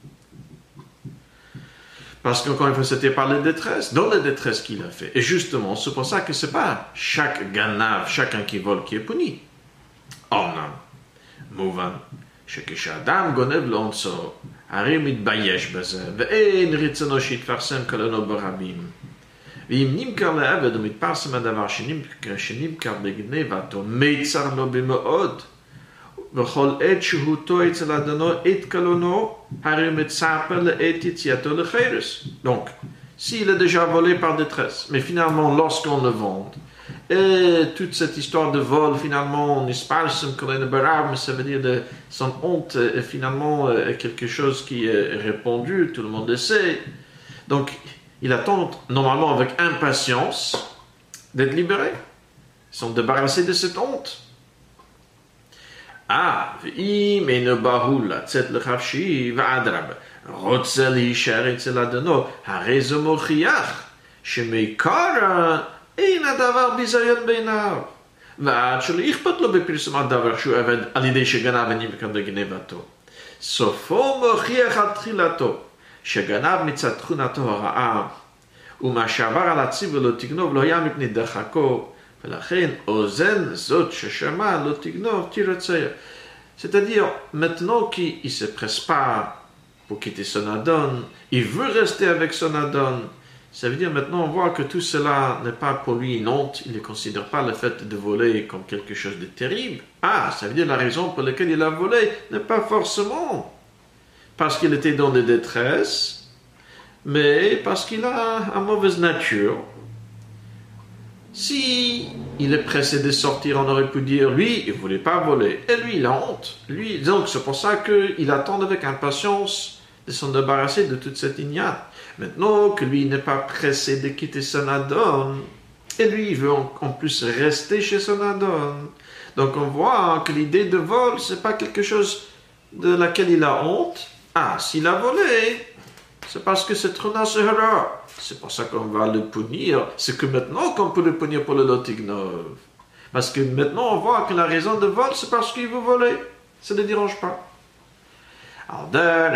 Parce qu'encore une fois, c'était par la détresse, dans la détresse qu'il a fait. Et justement, c'est pour ça que ce n'est pas chaque ganav, chacun qui vole, qui est puni. Ornam, mouvan, שכשאדם גונב לאונסו, הרי מתבייש בזה, ואין רצונו שיתפרסם כלנו ברבים. ואם נמכר לעבד ומתפרסם הדבר שנמכר בגנבתו, מיצר לו במאוד. וכל עת שהותו אצל אדונו עת קלונו, הרי מצפה לעת יציאתו לחרס. Donc, s'il est déjà volé par détresse, mais finalement, lorsqu'on le vend, et toute cette histoire de vol, finalement, on espalsem kolene barab, ça veut dire de son honte, est finalement quelque chose qui est répandu, tout le monde le sait. Donc, il attend normalement avec impatience d'être libéré. Ils sont débarrassés de cette honte. ואם אינו בהול לצאת לחפשי ואדרבה, רוצה להישאר אצל אדונו, הרי זה מוכיח שמעיקר אין הדבר ביזיון בעיניו. ועד שלא אכפת לו בפרסום הדבר שהוא עבד על ידי שגנב ונמכר בגנבתו. סופו מוכיח על תחילתו, שגנב מצד תכונתו הרעה, ומה שעבר על הציבור לא תגנוב לא היה מפני דחקו, ולכן, אוזן זאת ששמע לא תגנוב תירצה. C'est-à-dire, maintenant qu'il ne se presse pas pour quitter son Adon, il veut rester avec son Adon. Ça veut dire maintenant on voit que tout cela n'est pas pour lui une honte, il ne considère pas le fait de voler comme quelque chose de terrible. Ça veut dire la raison pour laquelle il a volé n'est pas forcément parce qu'il était dans des détresses, mais parce qu'il a une mauvaise nature. Si il est pressé de sortir, on aurait pu dire, lui, il ne voulait pas voler. Et lui, il a honte. Lui, donc, c'est pour ça qu'il attend avec impatience de s'en débarrasser de toute cette ignate. Maintenant que lui n'est pas pressé de quitter son Adon, et lui, il veut en plus rester chez son Adon. Donc, on voit que l'idée de vol, ce n'est pas quelque chose de laquelle il a honte. S'il a volé, c'est parce que c'est trop nassehara. C'est pour ça qu'on va le punir. C'est que maintenant qu'on peut le punir pour le lotignov. Parce que maintenant on voit que la raison de vol, c'est parce qu'il veut voler. Ça ne le dérange pas. Alors,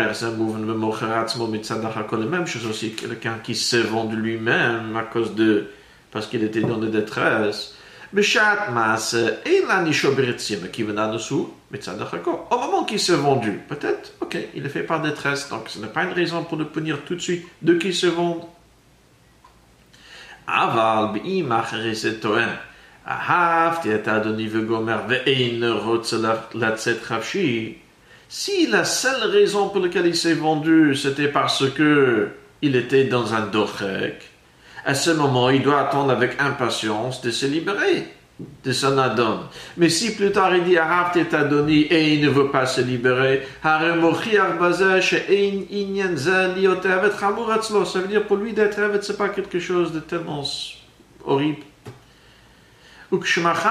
la même chose aussi, quelqu'un qui s'est vendu lui-même à cause de... parce qu'il était dans des détresses. Au moment qu'il s'est vendu, peut-être, ok, il est fait par détresse, donc ce n'est pas une raison pour le punir tout de suite de qu'il se vende. אבל באם אחרי זה טוען, אהבתי את אדוני וגומר ואין רוצה לצאת חפשי, si la seule raison pour laquelle il s'est vendu, c'était parce que il était dans un dochek, à ce moment, il doit attendre avec impatience de se libérer de son Adon. Mais si plus tard il dit Ahavti et Adoni et il ne veut pas se libérer, ça veut dire pour lui d'être Avet, c'est pas quelque chose de tellement horrible. Mais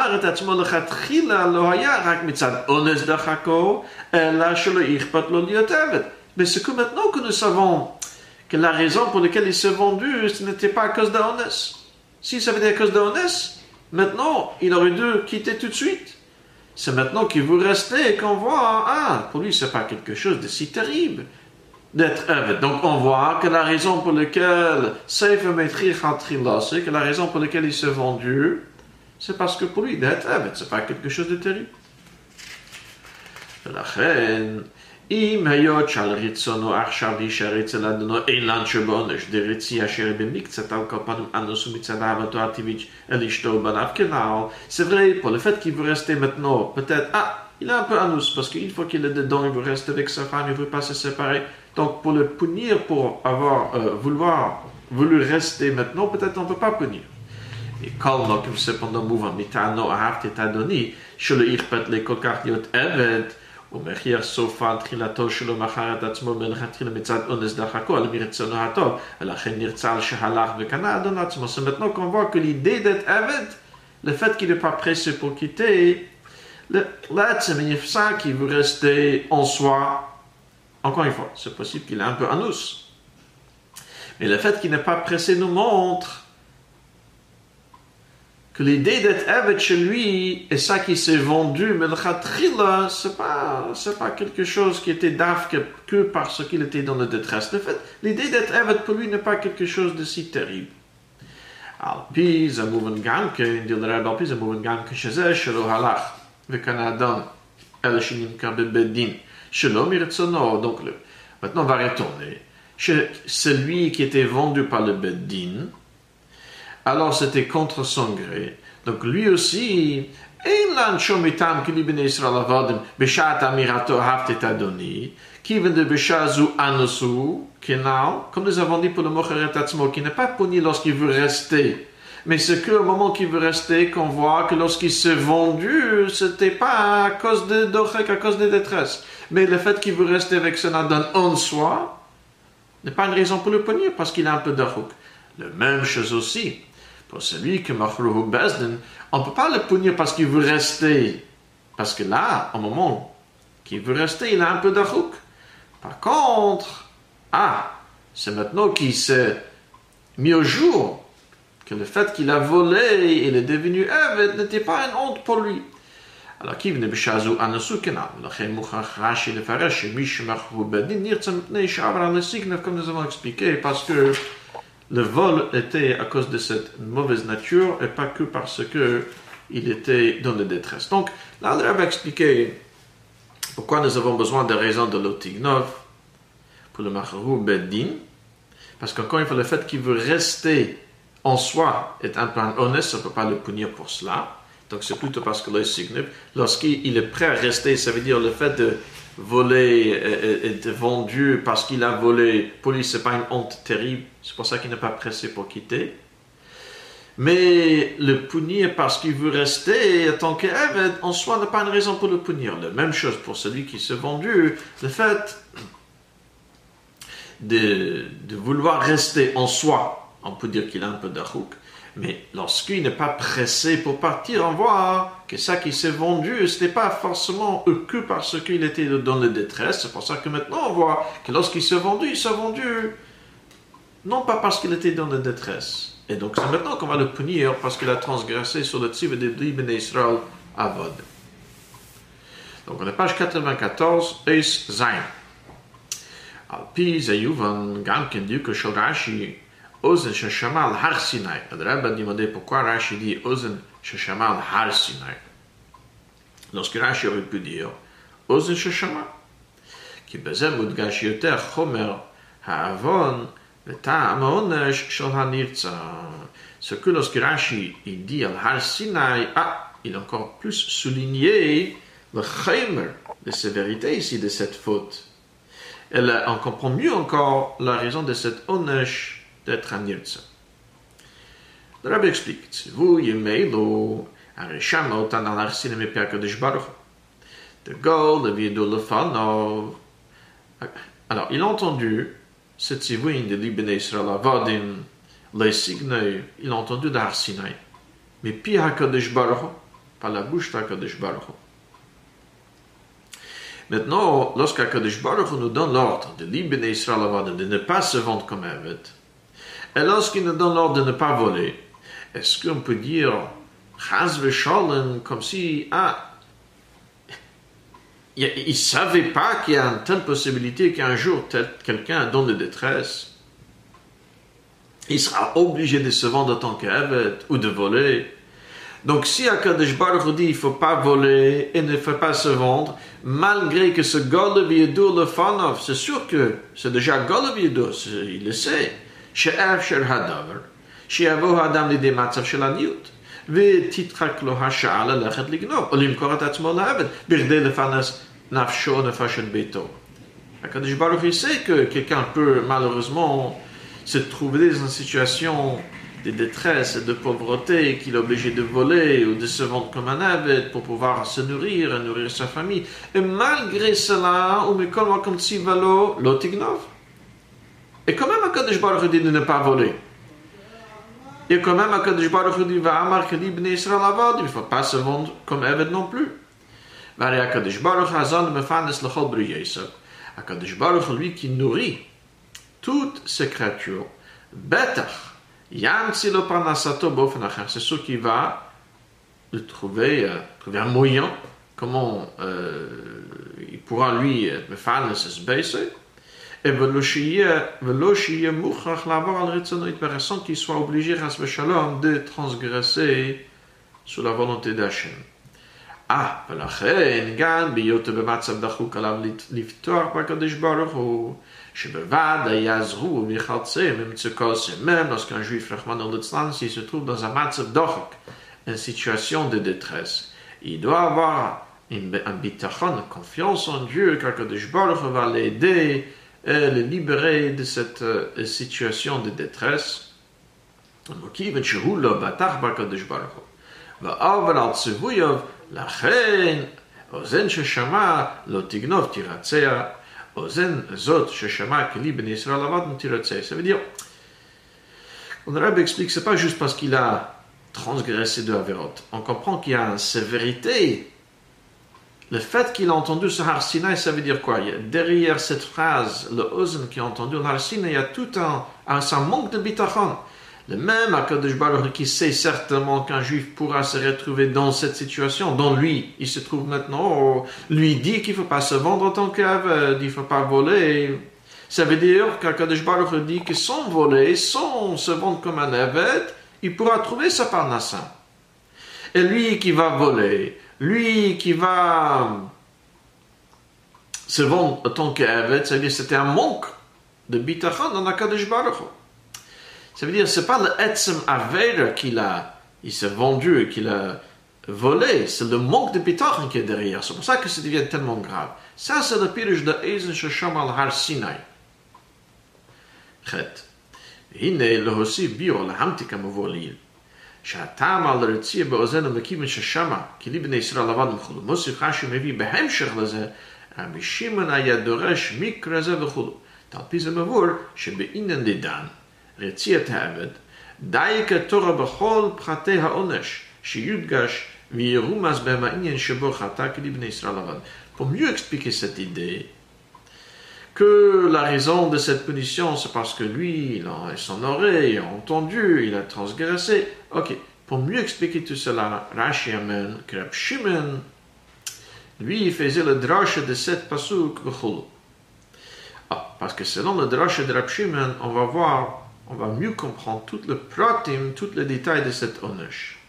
c'est que maintenant que nous savons que la raison pour laquelle il s'est vendu, ce n'était pas à cause d'Honès. Si ça veut dire à cause d'Honès, maintenant, il aurait dû quitter tout de suite. C'est maintenant qu'il veut rester et qu'on voit, pour lui, ce n'est pas quelque chose de si terrible d'être Eved. Donc, on voit que la raison pour laquelle c'est que la raison pour laquelle il s'est vendu, c'est parce que pour lui, d'être Eved, ce n'est pas quelque chose de terrible. אם היות שעל רצונו עכשיו להישאר אצל אדונו אילן שבעונש דרצי אשר במקצת על כל פנים אנוס ומצד אהבתו הטבעית אל אשתו ובניו כנעל. C'est vrai, pour le fait qu'il veut rester maintenant, peut-être, il est un peu anus, parce qu'une fois qu'il est dedans, il veut rester avec sa femme, il ne veut pas se séparer. Donc pour le punir, pour avoir voulu rester maintenant, peut-être on ne peut pas punir. Et comme cependant mouvant, mitano ahavti et adoni, שלא יכפת לי כל כך להיות עבד, ומחיר סופה תחילתו שלו מכר את עצמו מלכתחילה מצד אונס דחקו על מרצונו הטוב, ולכן נרצה על שהלך וקנה אדון עצמו. C'est maintenant qu'on voit que l'idée d'être avide, le fait qu'il n'est pas pressé pour quitter, l'être ça qui veut rester en soi, encore une fois, c'est possible qu'il est un peu en nous. Mais le fait qu'il n'est pas pressé nous montre que l'idée d'être avide chez lui est ça qui s'est vendu, mais le khatrila, c'est pas quelque chose qui était d'af que parce qu'il était dans la détresse. En fait, l'idée d'être avide pour lui n'est pas quelque chose de si terrible. Al-pi, zamouven gamken, dit le Rebbe, al-pi, zamouven gamken, shezeh, shelo halach, vekana adam, el shinim kabe bedin, shelo miretsono. Donc, maintenant, on va retourner. Celui qui était vendu par le beddin, alors c'était contre son gré. Donc lui aussi, comme nous avons dit pour le Mocheret Atzmo, qui n'est pas puni lorsqu'il veut rester. Mais c'est qu'au moment qu'il veut rester qu'on voit que lorsqu'il s'est vendu, c'était pas à cause de Dochek, à cause de détresse. Mais le fait qu'il veut rester avec son Adon en soi, n'est pas une raison pour le punir, parce qu'il a un peu d'Achouk. La même chose aussi, pour celui qui Machruhu Bezdin, on ne peut pas le punir parce qu'il veut rester. Parce que là, au moment qu'il veut rester, il a un peu d'Achouk. Par contre, c'est maintenant qu'il s'est mis au jour que le fait qu'il a volé, il est devenu Eved, n'était pas une honte pour lui. Alors, qui venait b'shazu anasu kenal, l'achem mouchach Rashi lefaresh, mishmachru bedin, nirtzam pnei shavra lesignev, comme nous avons expliqué, parce que le vol était à cause de cette mauvaise nature et pas que parce que il était dans la détresse. Donc, là, on va expliquer pourquoi nous avons besoin de raisons de l'otignov pour le machru bedin, parce qu'encore une fois, le fait qu'il veut rester en soi est un peu honnête, on ne peut pas le punir pour cela. Donc c'est plutôt parce que lorsqu'il est prêt à rester, ça veut dire le fait de voler et de vendu parce qu'il a volé, pour lui c'est pas une honte terrible, c'est pour ça qu'il n'est pas pressé pour quitter. Mais le punir parce qu'il veut rester en tant qu'Eved, en soi n'est pas une raison pour le punir. La même chose pour celui qui s'est vendu, le fait de vouloir rester en soi, on peut dire qu'il a un peu d'achouk. Mais lorsqu'il n'est pas pressé pour partir, on voit que ça qui s'est vendu, ce n'est pas forcément que parce qu'il était dans la détresse. C'est pour ça que maintenant on voit que lorsqu'il s'est vendu, il s'est vendu non pas parce qu'il était dans la détresse. Et donc c'est maintenant qu'on va le punir parce qu'il a transgressé sur le tzivah de Bnei Israël Avod. Donc on est page 94, Eis Zayin. Al-pi zayuvan gamken diuko shel Rashi Ozen Sheshama al Har Sinai. Le Rebbe a demandé pourquoi Rashi dit Ozen Sheshama al Har Sinai. Lorsque Rashi aurait pu dire Ozen Sheshama, qui bezem mudgash yoter chomer ha'avon v'ta'am ha'onesh shel ha'nirtza. Ce que lorsque Rashi il dit al Har Sinai, il a encore plus souligné le chomer, la sévérité ici de cette faute. On comprend mieux encore la raison de cette onesh d'être un nirtza. Le Rabbi explique, vous, Yemeilu, Arisham, Otan al Arsin, et Perkadosh Baruch. De Gol, de Vido Lefanov. Alors, il a entendu cette tzivouin de l'Ibn Israël, Avadim, les signes, il a entendu d'Ar Sinai. Mais puis HaKadosh Baruch, par la bouche d'HaKadosh Baruch. Maintenant, lorsqu'HaKadosh Baruch nous donne l'ordre de l'Ibn Israël, Avadim, de ne pas se vendre comme Eved, et lorsqu'il nous donne l'ordre de ne pas voler, est-ce qu'on peut dire Chaz v'sholem comme si il ne savait pas qu'il y a une telle possibilité qu'un jour quelqu'un dans la détresse, il sera obligé de se vendre en tant qu'Eved ou de voler. Donc si HaKadosh Baruch dit il ne faut pas voler et ne faut pas se vendre, malgré que ce Gol v'yedur lefanov, c'est sûr que c'est déjà Gol v'yedur, il le sait. שאפשר הדבר, שיבוא האדם לידי מצב של עניות, ותתחק לו השעה ללכת לגנוב, או למכור את עצמו לעבד, בכדי לפרנס נפשו או נפש את ביתו. הקדוש ברוך הוא sait que quelqu'un peut malheureusement se trouver dans une situation de détresse et de pauvreté, qu'il est obligé de voler ou de se vendre comme un aveugle pour pouvoir se nourrir et nourrir sa famille. Et malgré cela, et quand même, Akadosh Baruch Hu dit de ne pas voler. Et quand même, Akadosh Baruch Hu dit, il ne faut pas se vendre comme aveugle non plus. Akadosh Baruch Hu, lui qui nourrit toutes ces créatures, c'est sûr qu'il va trouver un moyen, comment il pourra lui se baisser, et sans qu'il soit obligé de transgresser sous la volonté d'Hachem. ולכן גם בהיותו במצב דחוק עליו לפתוח בקדוש ברוך הוא שבוודאי יעזרו מחלצי ממצוקות, même lorsqu'un juif Rahman al-Islam s'il se trouve dans un מצב דחוק, une situation de détresse, il doit avoir un bitachon, confiance en Dieu, car Kadosh Baruch Hu va l'aider et le libérer de cette situation de détresse. וכיוון שהוא לא בטח בקדוש ברוך הוא ועובר על ציווייו, לכן אוזן ששמע לא תגנוב תירצע, אוזן זאת ששמע כלי בני ישראל עבד תירצע. Ça veut dire, le Rabbi explique, c'est pas juste parce qu'il a transgressé de Averot. On comprend qu'il y a une sévérité. Le fait qu'il a entendu ce Har Sinai, ça veut dire quoi? Derrière cette phrase, le Ozen qui a entendu le Har Sinai, il y a tout un manque de bitachon. Le même Akadosh Baruch Hu qui sait certainement qu'un juif pourra se retrouver dans cette situation, dont lui, il se trouve maintenant, lui dit qu'il ne faut pas se vendre en tant qu'aveugle, il ne faut pas voler. Ça veut dire qu'Akadosh Baruch Hu dit que sans voler, sans se vendre comme un aveugle, il pourra trouver sa parnassa. Et lui qui va voler, lui qui va se vendre en tant qu'aveugle, ça veut dire que c'était un manque de bitachon dans Akadosh Baruch Hu. Ça veut dire, ce n'est pas le etzem avera il s'est vendu et qu'il a volé, c'est le manque de bitachon qui est derrière. C'est pour ça que ça devient tellement grave. Ça, c'est le pirush de Ezen Shesham al Har Sinai. Chet. הנה להוסיף ביור להמתיק המבוא שהטעם על הרציע באוזנו מכיוון ששמע כי לי בני ישראל עבד וכו'. מוסיף רש"י מביא בהמשך לזה, רבי שמעון היה דורש מקרא זה וכו'. על פי זה מבואר שבעניין דדן רציעת העבד די כתורה בכל פרטי העונש שיודגש וירומז בהם העניין שבו חטא כי לי בני ישראל עבד. Pour mieux expliquer cette idée, que la raison de cette punition, c'est parce que lui, son oreille a entendu, il a transgressé. Ok, pour mieux expliquer tout cela, Rashi amène que Rab Shimon, lui, il faisait le drache de cette pasuk v'chulu. Parce que selon le drache de Rab Shimon, on va mieux comprendre tout le pratim, tout le détail de cette onesh.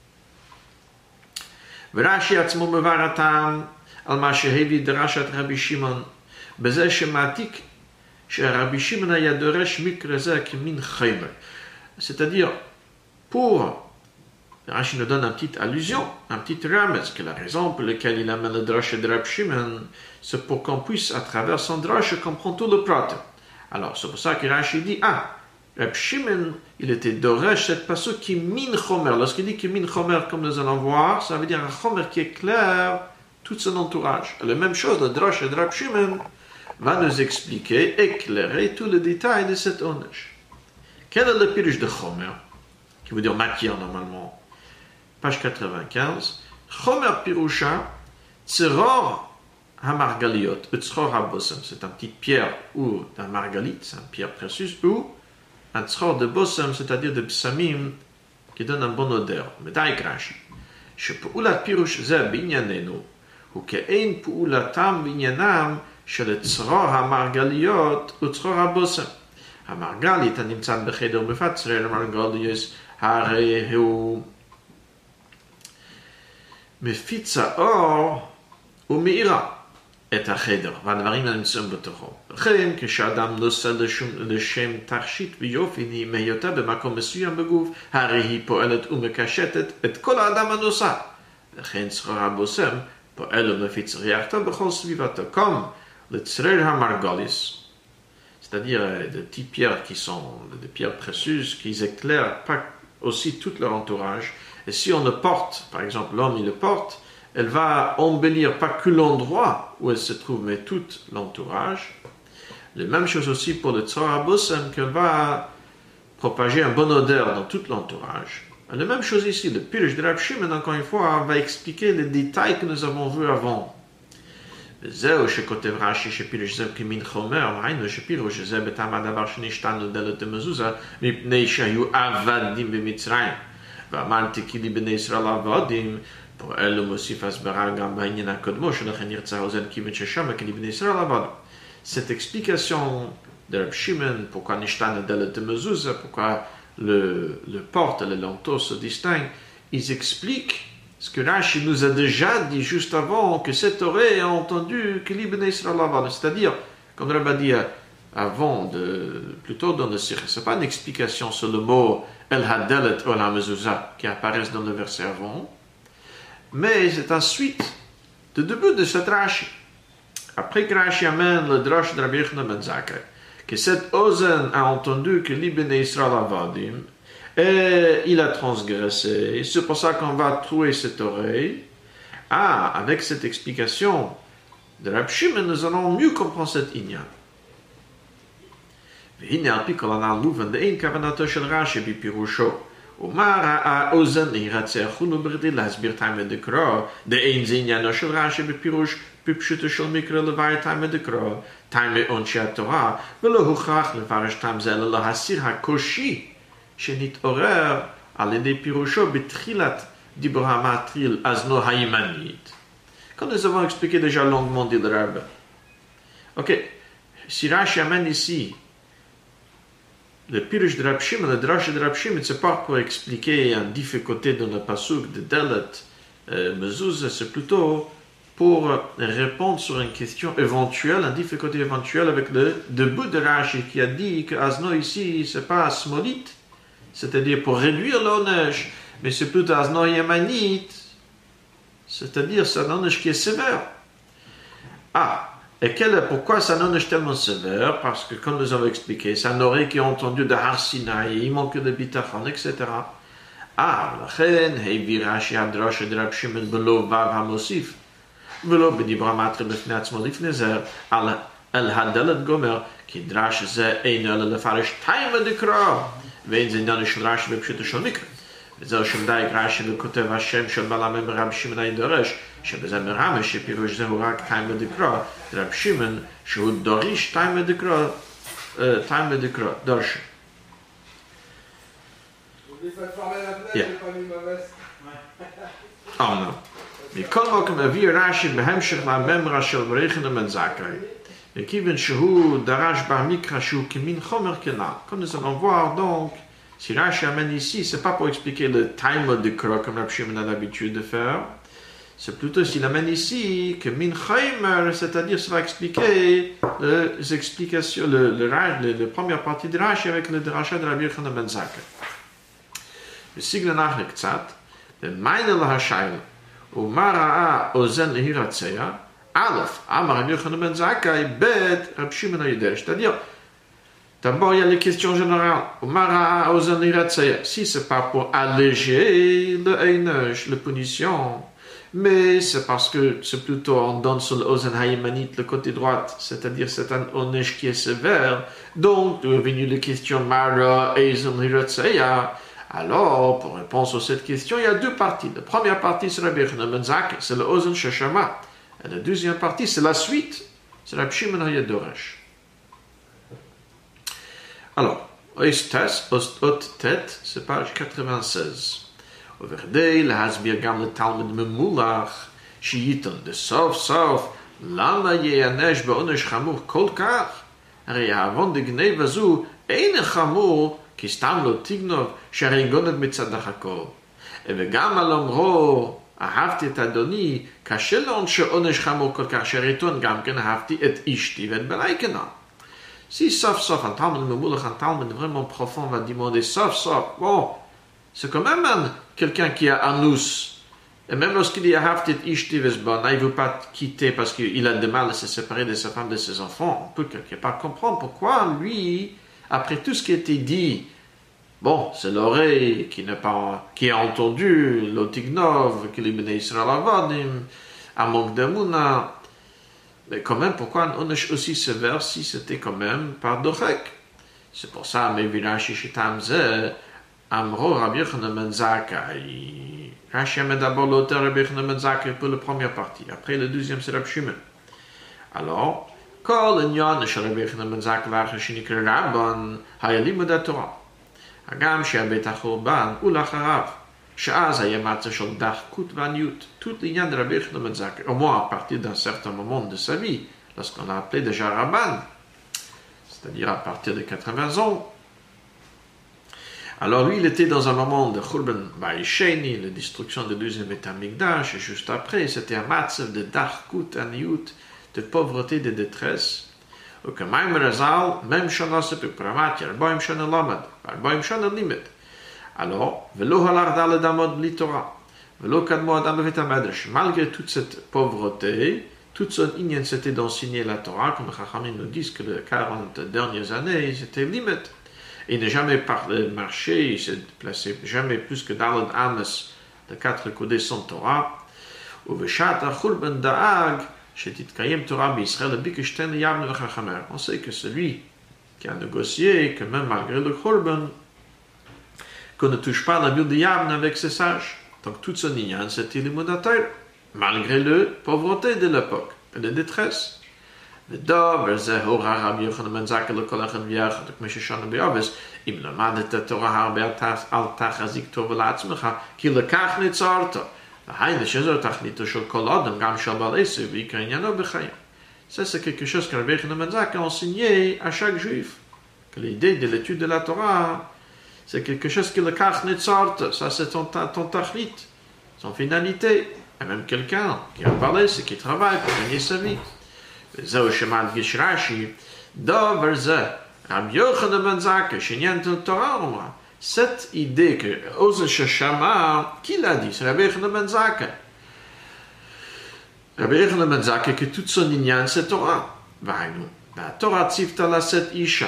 Rashi atzmo mevaratam al ma shehevi drashat Rabbi Shimon. בזה שמעתיק שרבי שמעון היה דורש מקרא זה כמין חיימר. C'est-à-dire, pour, Rashi nous donne une petite allusion, un petit ramez, que la raison pour laquelle il amène le drache de Rab Shimon, c'est pour qu'on puisse, à travers son drache, comprendre tout le pratim. Alors, c'est pour ça que Rashi dit, Rab Shimon, il était doresh cette pasuk qui min chomer. Lorsqu'il dit qui min chomer, comme nous allons voir, ça veut dire un chomer qui éclaire tout son entourage. Et la même chose, le drache de Rab Shimon va nous expliquer, éclairer tout le détail de cette onesh. Quel est le pirush de Chomer, qui veut dire matière normalement? Page 95. Chomer pirusha, tzeror hamargaliot, tzeror habosem. C'est une petite pierre ou d'un margalit, c'est une pierre précieuse, ou un tzeror de bosem, c'est-à-dire de psamim, qui donne un bon odeur. Mais d'ailleurs, Rashi, shepoulat pirush ze binyanenu, ou ke'ein poulatam binyanam, של צרור המרגליות וצרור הבושם. המרגלית הנמצא בחדר מפצרר המרגליות, הרי הוא מפיץ האור ומאירה את החדר, והדברים הנמצאים בתוכו. לכן, כשאדם נושא לשם תכשיט ויופי, היא מהיותה במקום מסוים בגוף, הרי היא פועלת ומקשטת את כל האדם הנושא. לכן צרור הבושם פועל ומפיץ ריח טוב בכל סביבתו. comme le Tzrer HaMargalis, c'est-à-dire des petites pierres qui sont des pierres précieuses, qui éclairent pas aussi tout leur entourage. Et si on le porte, par exemple l'homme il le porte, elle va embellir pas que l'endroit où elle se trouve, mais tout l'entourage. La même chose aussi pour le Tzor HaBosem, qu'elle va propager un bon odeur dans tout l'entourage. La même chose ici, le Pirush de Rab Shimon, encore une fois, va expliquer les détails que nous avons vus avant. זהו שכותב רש"י שפירוש זה כמין חומר, היינו שפירוש זה בטעם הדבר שנשתנו דלת המזוזה, מפני שהיו עבדים במצרים. ואמרתי כי לי בני ישראל עבדים, פה אלו מוסיף הסברה גם בעניין הקודמו, שלכן ירצה האוזן כיוון ששם כי לי בני ישראל עבדים. Cette explication de Rab Shimon, pourquoi nishtanu delet mezuzah, pourquoi le porte et le linteau se distinguent, ils expliquent ce que Rashi nous a déjà dit juste avant, que cet oreille a entendu que l'Ibn Israël a, c'est-à-dire, comme Rabbi a dit avant, plutôt dans le Sikh, ce n'est pas une explication sur le mot El Hadelet ou la Mezuzah qui apparaissent dans le verset avant, mais c'est ensuite le début de cette Rashi. Après que Rashi amène le drash de Rabbi Yochanan ben Zakkai, que cet Ozen a entendu que l'Ibn Israël avadim, et il a transgressé, c'est pour ça qu'on va trouver cette oreille. Avec cette explication de Rab Shimon, nous allons mieux comprendre cet inyan. והנה על פי כל הנ"ל מובן דאין כוונתו של רש"י בפירושו. ומה ראה אוזן להירצח הוא בכדי להסביר תימא דקרא, דאין זה עניינו של רש"י בפירוש בפשוטו של מקרא לבאר תימא דקרא, תימא עונשי התורה, ולא הוכרח לפרש טעם זה אלא להסיר הקושי שנתעורר על ידי פירושו בתחילת דיבור המטריל אזנו הימנית. Comme nous avons expliqué déjà longuement dit le Rabbin. Ok, si Rashi amène ici le pirush de Rab Shimon, le drash de Rab Shimon, c'est pas pour expliquer un difficulté dans le pasuk de Delet Mezuzah, c'est plutôt pour répondre sur une question éventuelle, une difficulté éventuelle avec le début de Rashi qui a dit que Azno ici, c'est pas Smolite, c'est-à-dire pour réduire l'onesh, mais c'est plutôt Azno Yamanite, c'est-à-dire c'est un onesh qui est sévère. Et pourquoi c'est un onesh tellement sévère? Parce que, comme nous avons expliqué, c'est un oreille qui a entendu de Har Sinai, il manque de bitachon, etc. לכן הביא רש"י הדרש של רב שמעון בלא וו המוסיף, ולא בדיבור המטרי בפני עצמו לפני זה, על הדלת גומר, כי דרש זה אינו אלא לפרש תימא דקרא, ואין זה עניין של רש"י בפשוטו של מקרא. וזהו שמדייק רש"י וכותב השם של בעל המאמר רב שמעון הידרש, שבזה מרמז שפירוש זהו רק תימא דקרא, רב שמעון שהוא דורש תימא דקרא, דורש. non. מכל מקום הביא רש"י בהמשך לממרה של רבי יוחנן בן זכאי, וכיוון שהוא דרש במקרא שהוא כמין חומר כנ"ל. Comme nous allons voir donc, si Rashi amène ici, c'est pas pour expliquer le time de Kro comme Rab Shimon a l'habitude de faire, c'est plutôt s'il amène ici que min chaimer, c'est-à-dire ça va expliquer les explications, la première partie de Rashi avec le drasha de Rabbi Yochanan ben Zakkai. וסיגנא נחלה קצת, ומיינה להשאלה, ומה ראה אוזן להירצח, א', אמר רבי יוחנן בן זכאי, ב', רב שמעון הידרש. C'est-à-dire, d'abord il y a les questions générales, ומה ראה אוזן להירצח, si c'est pas pour alléger le einesh, la punition, mais c'est parce que c'est plutôt on donne sur l'ozen haïmanit, le côté droit, c'est-à-dire c'est un onesh qui est sévère, donc est venue la question, Mara, Ezen Hiratseya. Alors, pour répondre à cette question, il y a deux parties. La première partie, c'est Rabbi Yochanan ben Zakkai, c'est le Ozen Sheshama. Et la deuxième partie, c'est la suite, c'est Rabbi Shimon HaYadoresh. Alors, Ot Tet, c'est page 96. ובכדי להסביר גם לתלמיד ממולח שייתן בסוף סוף למה ייענש בעונש חמור כל כך? הרי העוון דגנבה זו אין חמור כי סתם לא תגנוב שהרי גונב מצד הכל. וגם על אומרו אהבתי את אדוני קשה לעונש עונש חמור כל כך שהריתון גם כן אהבתי את אשתי ואת בני כנ"ל. Si sauf un talmud ממולח, un talmud vraiment profond va demander sauf, bon, c'est quand même quelqu'un qui a anus Et même lorsqu'il dit Haftit Ishti Vesbana, il ne veut pas quitter parce qu'il a du mal à se séparer de sa femme, de ses enfants. On peut quelque part comprendre pourquoi lui, après tout ce qui a été dit, bon, c'est l'oreille qui a entendu l'Otignov, qui lui Israël Avadim, à manque d'Amouna. Mais quand même, pourquoi on a aussi ce vers si c'était quand même par Dochek? C'est pour ça, mais Virashi Shitamze, Amro Rabbi Yochanan ben Zakkai. Rashi met d'abord l'auteur Rabbi Yochanan ben Zakkai pour la première partie. Après, le deuxième, c'est Rabbi Shimon. Alors, Kol Inyan Shel Rabbi Yochanan ben Zakkai Vacher Shenikra Rabban Hayalim Torah. Hagam She'abet HaChurban Ulacharav. She'az Hayamatza Shel Dachkut Vaniut. Tout l'Inyan de Rabbi Yochanan ben Zakkai, au moins à partir d'un certain moment de sa vie, lorsqu'on l'a appelé déjà Rabban, c'est-à-dire à partir de 80 ans. Alors lui, il était dans un moment de Churban Ba'isheni, la destruction du deuxième Beit HaMikdash, et juste après, c'était un matzav de Dachkut Aniyut, de pauvreté, de détresse. Ou que Maïm Razal, même Shana Sepe Pramat, Yarboim Shana Lamad, Yarboim Shana Limit. Alors, Velo Halar Dal Damod Bli Torah, Velo Kadmo Adam Beit HaMedrash, malgré toute cette pauvreté, toute son inyan, c'était d'enseigner la Torah, comme Chachamim nous disent que les 40 dernières années, c'était limite. Il n'a jamais marché, il s'est placé jamais plus que Dalad Ames, de 4 coudées sans Torah. Ou Veshata Churban Da'ag, Shetit Kayem Torah B'Israël, Bikishten Yavne V'Chachamer. On sait que celui qui a négocié, que même malgré le Churban, qu'on ne touche pas la ville de Yavne avec ses sages. Donc toute son inyan, c'était l'immunateur, malgré la pauvreté de l'époque, et la détresse. ודוב, זה הורה רבי יוחנן בן זכאי לכל אחד ויחד, כמו ששנה באובס, אם למד את התורה הרבה אל תחזיק טוב לעצמך, כי לכך נצרת. והיינו שזו תכליתו של כל אדם, גם של בעל עשר, ועיקר עניינו בחיים. Ça, c'est quelque chose que Rabbi Yochanan ben Zakkai a enseigné à chaque juif. Que l'idée de l'étude de la Torah, c'est quelque chose que le kach netzart, ça c'est ton tachlit, son finalité. Et même quelqu'un qui a parlé, c'est qui travaille pour gagner sa vie. זהו שמדגיש רש"י, דבר זה, רבי יוחנן בן זכאי, שעניין את התורה אומרה, cette idée que Ozen Shashama, qui l'a dit? C'est Rabbi Yochanan ben Zakkai. Rabbi Yochanan ben Zakkai, que toute son inyan, c'est Torah. Vainu, la Torah tzivta la set isha.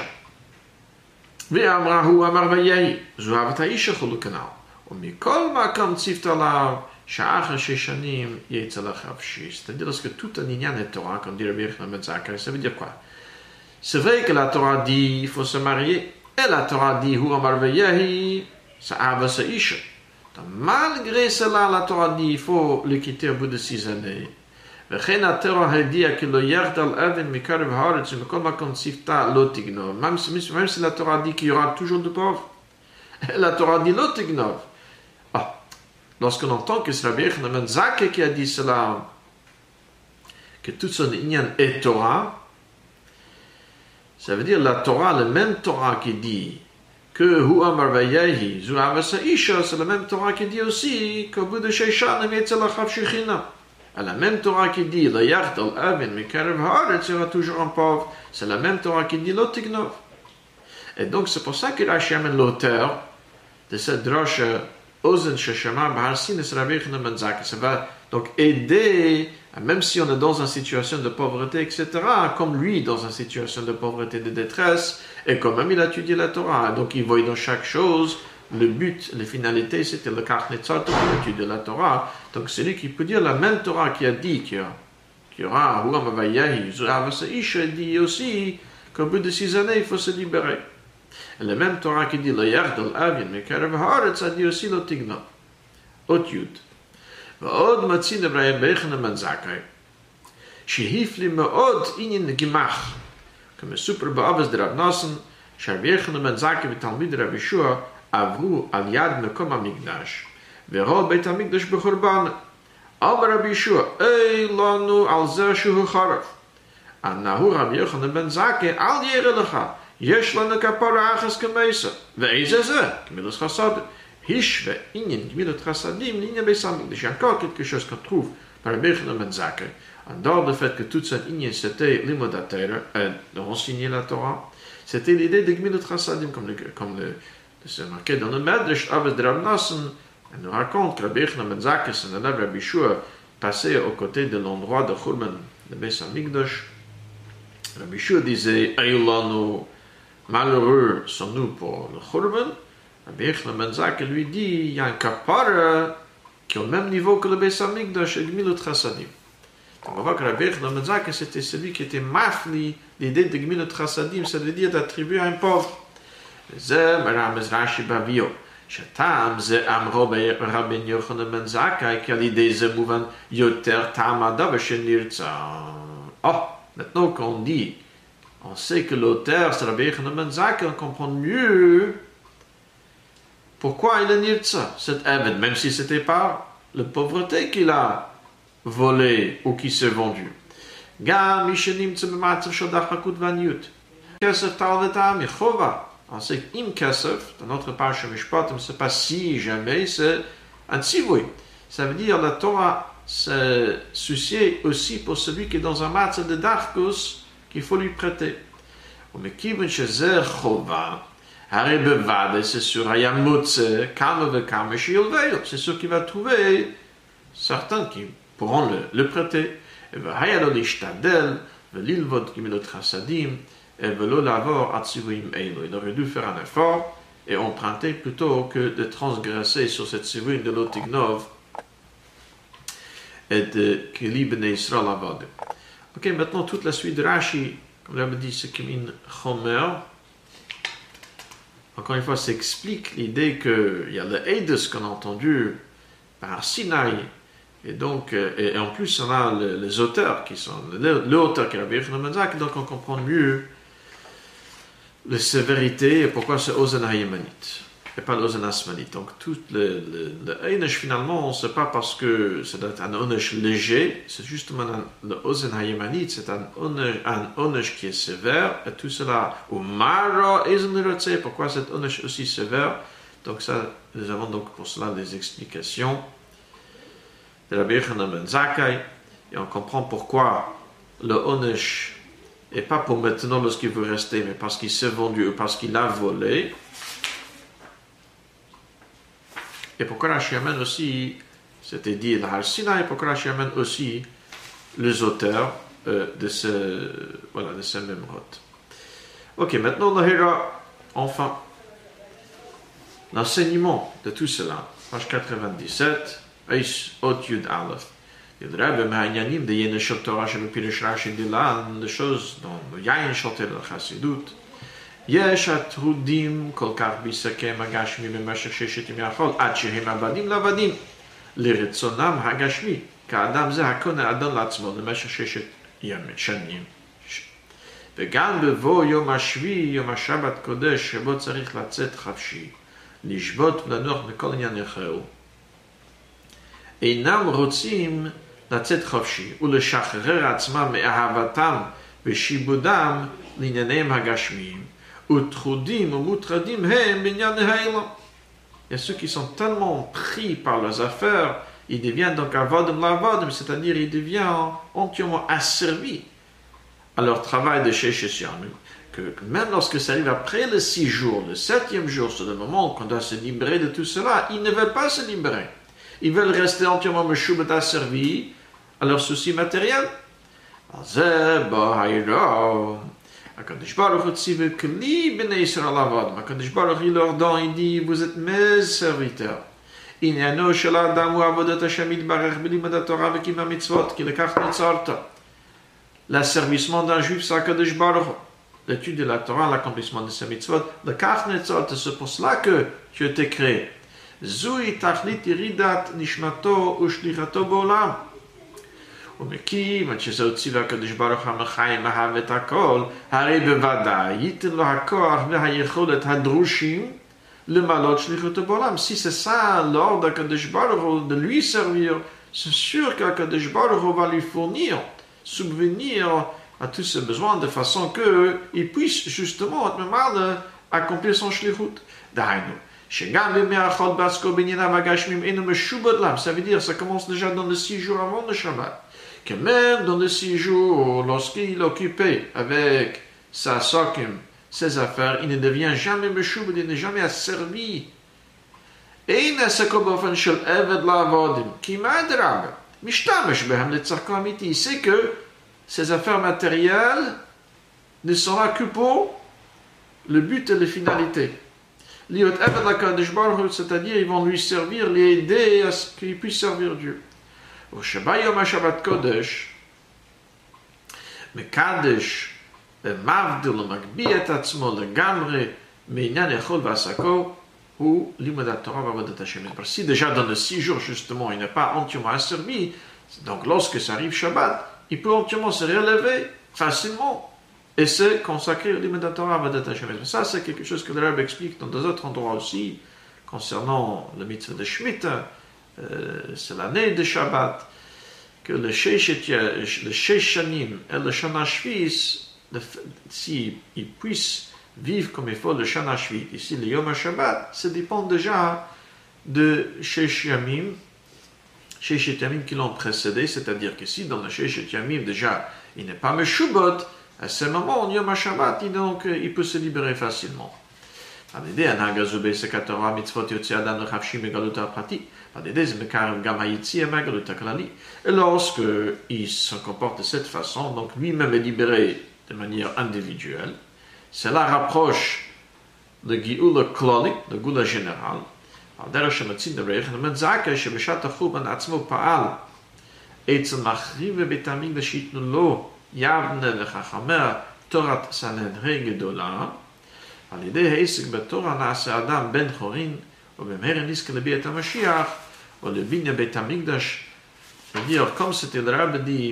ואמרה הוא אמר ויהי, זו אהבת האישה חולו כנ"ל. ומכל מקום ציוותה לה שאחר 6 שנים יצא לך חופשי. C'est-à-dire lorsque tout un inyan est Torah, comme dit Rabbi Yochanan ben Zakkai, ça veut dire quoi? C'est vrai que la Torah dit il faut se marier, et la Torah dit hu amar veyehi, ça ava sa isha. Malgré cela, la Torah dit il faut le quitter au bout de 6 années. וכן התורה הודיעה כי לא ירד על אבן מקרב הארץ ומכל מקום צפתה לא תגנוב. Même si la Torah dit qu'il y aura toujours de pauvres, la Torah dit לא תגנוב. Lorsqu'on entend que c'est Rabbi Yochanan ben Zakkai qui a dit cela, que tout son inyan est Torah, ça veut dire la Torah, le même Torah qui dit que hu amar vayehi zu avasa isha, c'est la même Torah qui dit aussi qu'au bout de 6 shanim yetzel achav shechinah. La même Torah qui dit la yard al avin mikarev haaretz sera toujours un pauvre, c'est la même Torah qui dit lo tignov. Et donc c'est pour ça que Rashi amène l'auteur de cette droche Ozen Sheshama Bahar Sin, c'est Rabbi Yochanan ben Zakkai. Ça va donc aider, même si on est dans une situation de pauvreté, etc., comme lui, dans une situation de pauvreté, de détresse, et quand même il a étudié la Torah. Donc il voit dans chaque chose, le but, la finalité, c'était le kach netzart pour l'étude de la Torah. Donc c'est lui qui peut dire la même Torah qui a dit qu'il y aura Huam Avayahi, Zuavasa Isha, dit aussi qu'au bout de 6 années, il faut se libérer. Et la même Torah qui dit le yard al-avin mekarev haaretz a dit aussi lo tigna. Ot yud. ועוד מצין רבי yochanan ben Zakkai, שהפליא מאוד עניין גמח, כמסופר באובס דרב נוסן, שרבי yochanan ben Zakkai ותלמיד רב ישוע עברו על יד מקום המקדש, וראו בית המקדש בחורבן. אמר רבי ישוע, אי לנו על זה שהוא חרב. הנהו רבי yochanan ben Zakkai, אל ירא לך, יש לנו כפרה אחת כמסה, ואיזה זה? גמילת חסדים. Hishve, Inyan, Gmilut Chassadim, l'Inyan Beis HaMikdash. Il y a encore quelque chose qu'on trouve par Rabbi Yochanan ben Zakkai. En dehors du fait que toute cette Inyan, c'était l'imodateur, d'enseigner la Torah, c'était l'idée de Gmilut Chassadim, comme c'est marqué dans le Medrash, Aved Rav Nassan, Elle nous raconte que Rabbi Yochanan ben Zakkai, son élève Rabbi Shua, passait aux côtés de l'endroit de Khurban, de Beis Hamikdash. Rabbi Shua disait, Aïlanu, malheureux sont-nous pour le Khurban. Rabbi Yochanan ben Zakkai lui dit, il y a un kapara qui est au même niveau que le Beis Hamikdash et Gmilut Chasadim. On va voir que Rabbi Yochanan ben Zakkai, c'était celui qui était mafli l'idée de Gmilut Chasadim, ça veut dire d'attribuer à un pauvre. זה מרמז רש"י בביו, שטעם זה אמרו רבי יוחנן בן זכאי, כי על ידי זה מובן יותר טעם הדבר שנרצה. Maintenant qu'on dit, on sait que l'auteur c'est Rabbi Yochanan ben Zakkai, on comprend mieux pourquoi il est nirtza, cet Eved, même si c'était pas la pauvreté qu'il a volé ou qui s'est vendu. גם מי שנמצא במצב של דחקות ועניות, כסף טל וטעם מחובה. On sait qu'im kasef, dans notre page Mishpat, on ne sait pas si jamais c'est un tzivui. Ça veut dire la Torah se soucier aussi pour celui qui est dans un match de darkus qu'il faut lui prêter. Mais qui veut chez zer chova, haribevade, c'est sûr, hayamutze, kame kame shilveil, c'est sûr qu'il va trouver certains qui pourront le prêter. Et hayalo lishtadel, velilvod kimilot chasadim. Il aurait dû faire un effort et emprunter plutôt que de transgresser sur cette tzivui de l'Otignov et de Kili Bnei Yisrael Avod. Ok, maintenant toute la suite de Rashi, comme l'avait dit, c'est Kimin Chomer. Encore une fois, ça explique l'idée qu'il y a le Eidos qu'on a entendu par Sinaï. Et donc, et en plus, on a les auteurs qui sont l'auteur qui est Rabbi Yochanan ben Zakkai, donc on comprend mieux la sévérité et pourquoi c'est Ozen Hayemanite et pas l'Ozen Asmanite. Donc tout le Einesh finalement, on ne sait pas parce que c'est un Onesh léger, c'est justement le Ozen Hayemanite, c'est un Onesh qui est sévère et tout cela au Mara Ezenirotse, pourquoi cet Onesh aussi sévère. Donc ça, nous avons donc pour cela des explications de Rabbi Yochanan ben Zakkai et on comprend pourquoi le Onesh et pas pour maintenant lorsqu'il veut rester, mais parce qu'il s'est vendu ou parce qu'il a volé. Et pourquoi Rashi amène aussi, c'était dit à Har Sinaï, et pourquoi Rashi amène aussi les auteurs de ce même rote. Ok, maintenant on verra enfin l'enseignement de tout cela. Page 97, Eis Ot Yud Aleph. Il Rebbe Mahanyanim de Yene Shel Torah Shel Pirish Rashi Dilan, des choses dans le Yain Shotel al Chassidut. Yesh atrudim kol kach bisakem hagashmi b'meshech sheshet yim yachol ad shehem avadim lavadim lirtzonam hagashmi ka'adam ze hakone adon latzmo b'meshech sheshet shanim. וגם בבוא יום השביעי, יום השבת קודש, שבו צריך לצאת חפשי, לשבות ולנוח מכל עניין אחר. אינם רוצים לצאת חופשי ולשחרר עצמם מאהבתם ושיבודם לענייניהם הגשמיים וטחודים ומוטרדים הם בענייני העולם. Il y a ceux qui sont tellement pris par leurs affaires, ils deviennent donc avodim lavodim, c'est-à-dire ils deviennent entièrement asservis à leur travail de Sheshes Yamim, que même lorsque ça arrive après le 6 jours, le 7e jour, c'est le moment qu'on doit se libérer de tout cela, ils ne veulent pas se libérer. Ils veulent rester entièrement meshubet asservis à leurs soucis matériels. HaKadosh Baruch Hu tzivu kli b'nei Yisrael avodim. HaKadosh Baruch Hu leur donne, il dit, vous êtes mes serviteurs. Inyano shel adam hu avodat Hashem yitbarach b'limud Torah v'kiyum mitzvot, ki lekach nitzarta. L'asservissement d'un juif, c'est HaKadosh Baruch Hu. L'étude de la Torah, l'accomplissement de ses mitzvot, lekach nitzarta, c'est pour cela que tu as été créé. Zui tachlit yiridat nishmato ushlichato b'olam. ומכיוון שזהו ציווה הקדוש ברוך המחיים אהב את הכל, הרי בוודאי ייתן לו הכוח והיכולת הדרושים למלות שליחותו בעולם. Si c'est ça l'ordre d'Akadosh Baruch Hu de lui servir, c'est sûr qu'Akadosh Baruch Hu va lui fournir, subvenir à tous ses besoins de façon qu'il puisse justement accomplir son shlichut. דהיינו, שגם בימי החול בעסקו בענייניו הגשמיים אינו משובד להם. Ça veut dire, ça commence déjà dans les 6 jours avant le Shabbat. Que même dans les 6 jours, lorsqu'il est occupé avec sa sokim, ses affaires, il ne devient jamais meshubed, il n'est jamais asservi אין עסקו באופן של עבד לעבודים, כי מה אדרבה? משתמש בהם לצרכו אמיתי. C'est que ces affaires matérielles ne sont là que pour le but et les finalités. Liot Eved l'Akadosh Baruch Hu, c'est-à-dire ils vont lui servir, l'aider à ce qu'il puisse servir Dieu. Au Shabbat Yom HaShabbat Kodesh, Mekadesh, Mavdil, Magbi et Atzmo, Legamre, Meinyan Echol Vasako, ou Limud Torah Vavodat Hashem. Parce que si déjà dans les 6 jours, justement, il n'est pas entièrement asservi, donc lorsque ça arrive Shabbat, il peut entièrement se relever facilement et se consacrer au Limud Torah Vavodat Hashem. Ça, c'est quelque chose que le Rebbe explique dans d'autres endroits aussi, concernant le mitzvah de Shemitah, c'est l'année de Shabbat, que le Sheish Shanim et le Shana Shvis, s'ils puissent vivre comme il faut le Shana Shvit, ici le Yom HaShabbat, ça dépend déjà de Sheish Yamim qui l'ont précédé, c'est-à-dire que si dans le Sheish Yamim déjà il n'est pas Meshubot, à ce moment, Yom HaShabbat, donc il peut se libérer facilement. על-ידי הנהג הזו בעסק התורה מצוות יוצא אדם לחפשי מגלות הפרטי, על-ידי זה מקרב גם היציאה מהגלות הכללי. Et lorsque il se comporte de cette façon, donc lui-même est libéré de manière individuelle, cela rapproche le Gioula Klali, le Gula général, על דרך שמציג דבריך, ומזכה שבשעת החורבן עצמו פעל אצל מחריבי בית המקדש שייתנו לו יבנה וחכמיה תורת סנהדרין גדולה, על ידי העסק בתורה נעשה אדם בן חורין, ובמהרה נזכה לביאת המשיח, או לבניין בית המקדש. C'est-à-dire, comme c'était le Rabbi dit,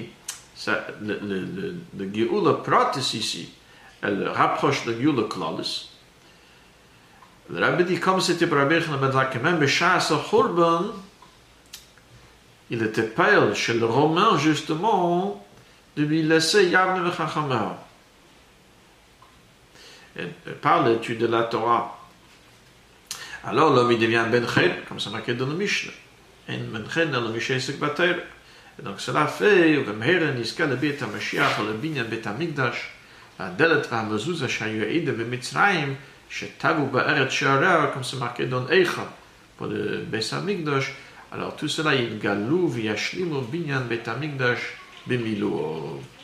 le Géoula Pratis ici, elle rapproche le Géoula Klalis. Le Rabbi dit, comme c'était pour Rabbi Yochanan, que même B'Shas HaChurban, il était payé chez le Romain, justement, de lui laisser Yavne V'Chachamah. Par l'étude de la Torah. Alors l'homme il devient Ben Ched, comme c'est marqué dans le Mishnah. Et Ben Ched dans le Mishnah c'est Bater. Et donc cela fait, Vemhera Niska le Beit HaMashiach, le Binyan Beit HaMikdash, Adelet VaMazuzah Shayu Eida B'Mitzrayim, Shetavu Ba'eret Sha'ara, comme c'est marqué dans Eicha, pour le Beit HaMikdash. Alors tout cela, il galou v'yashlimu Binyan Beit HaMikdash b'miluo.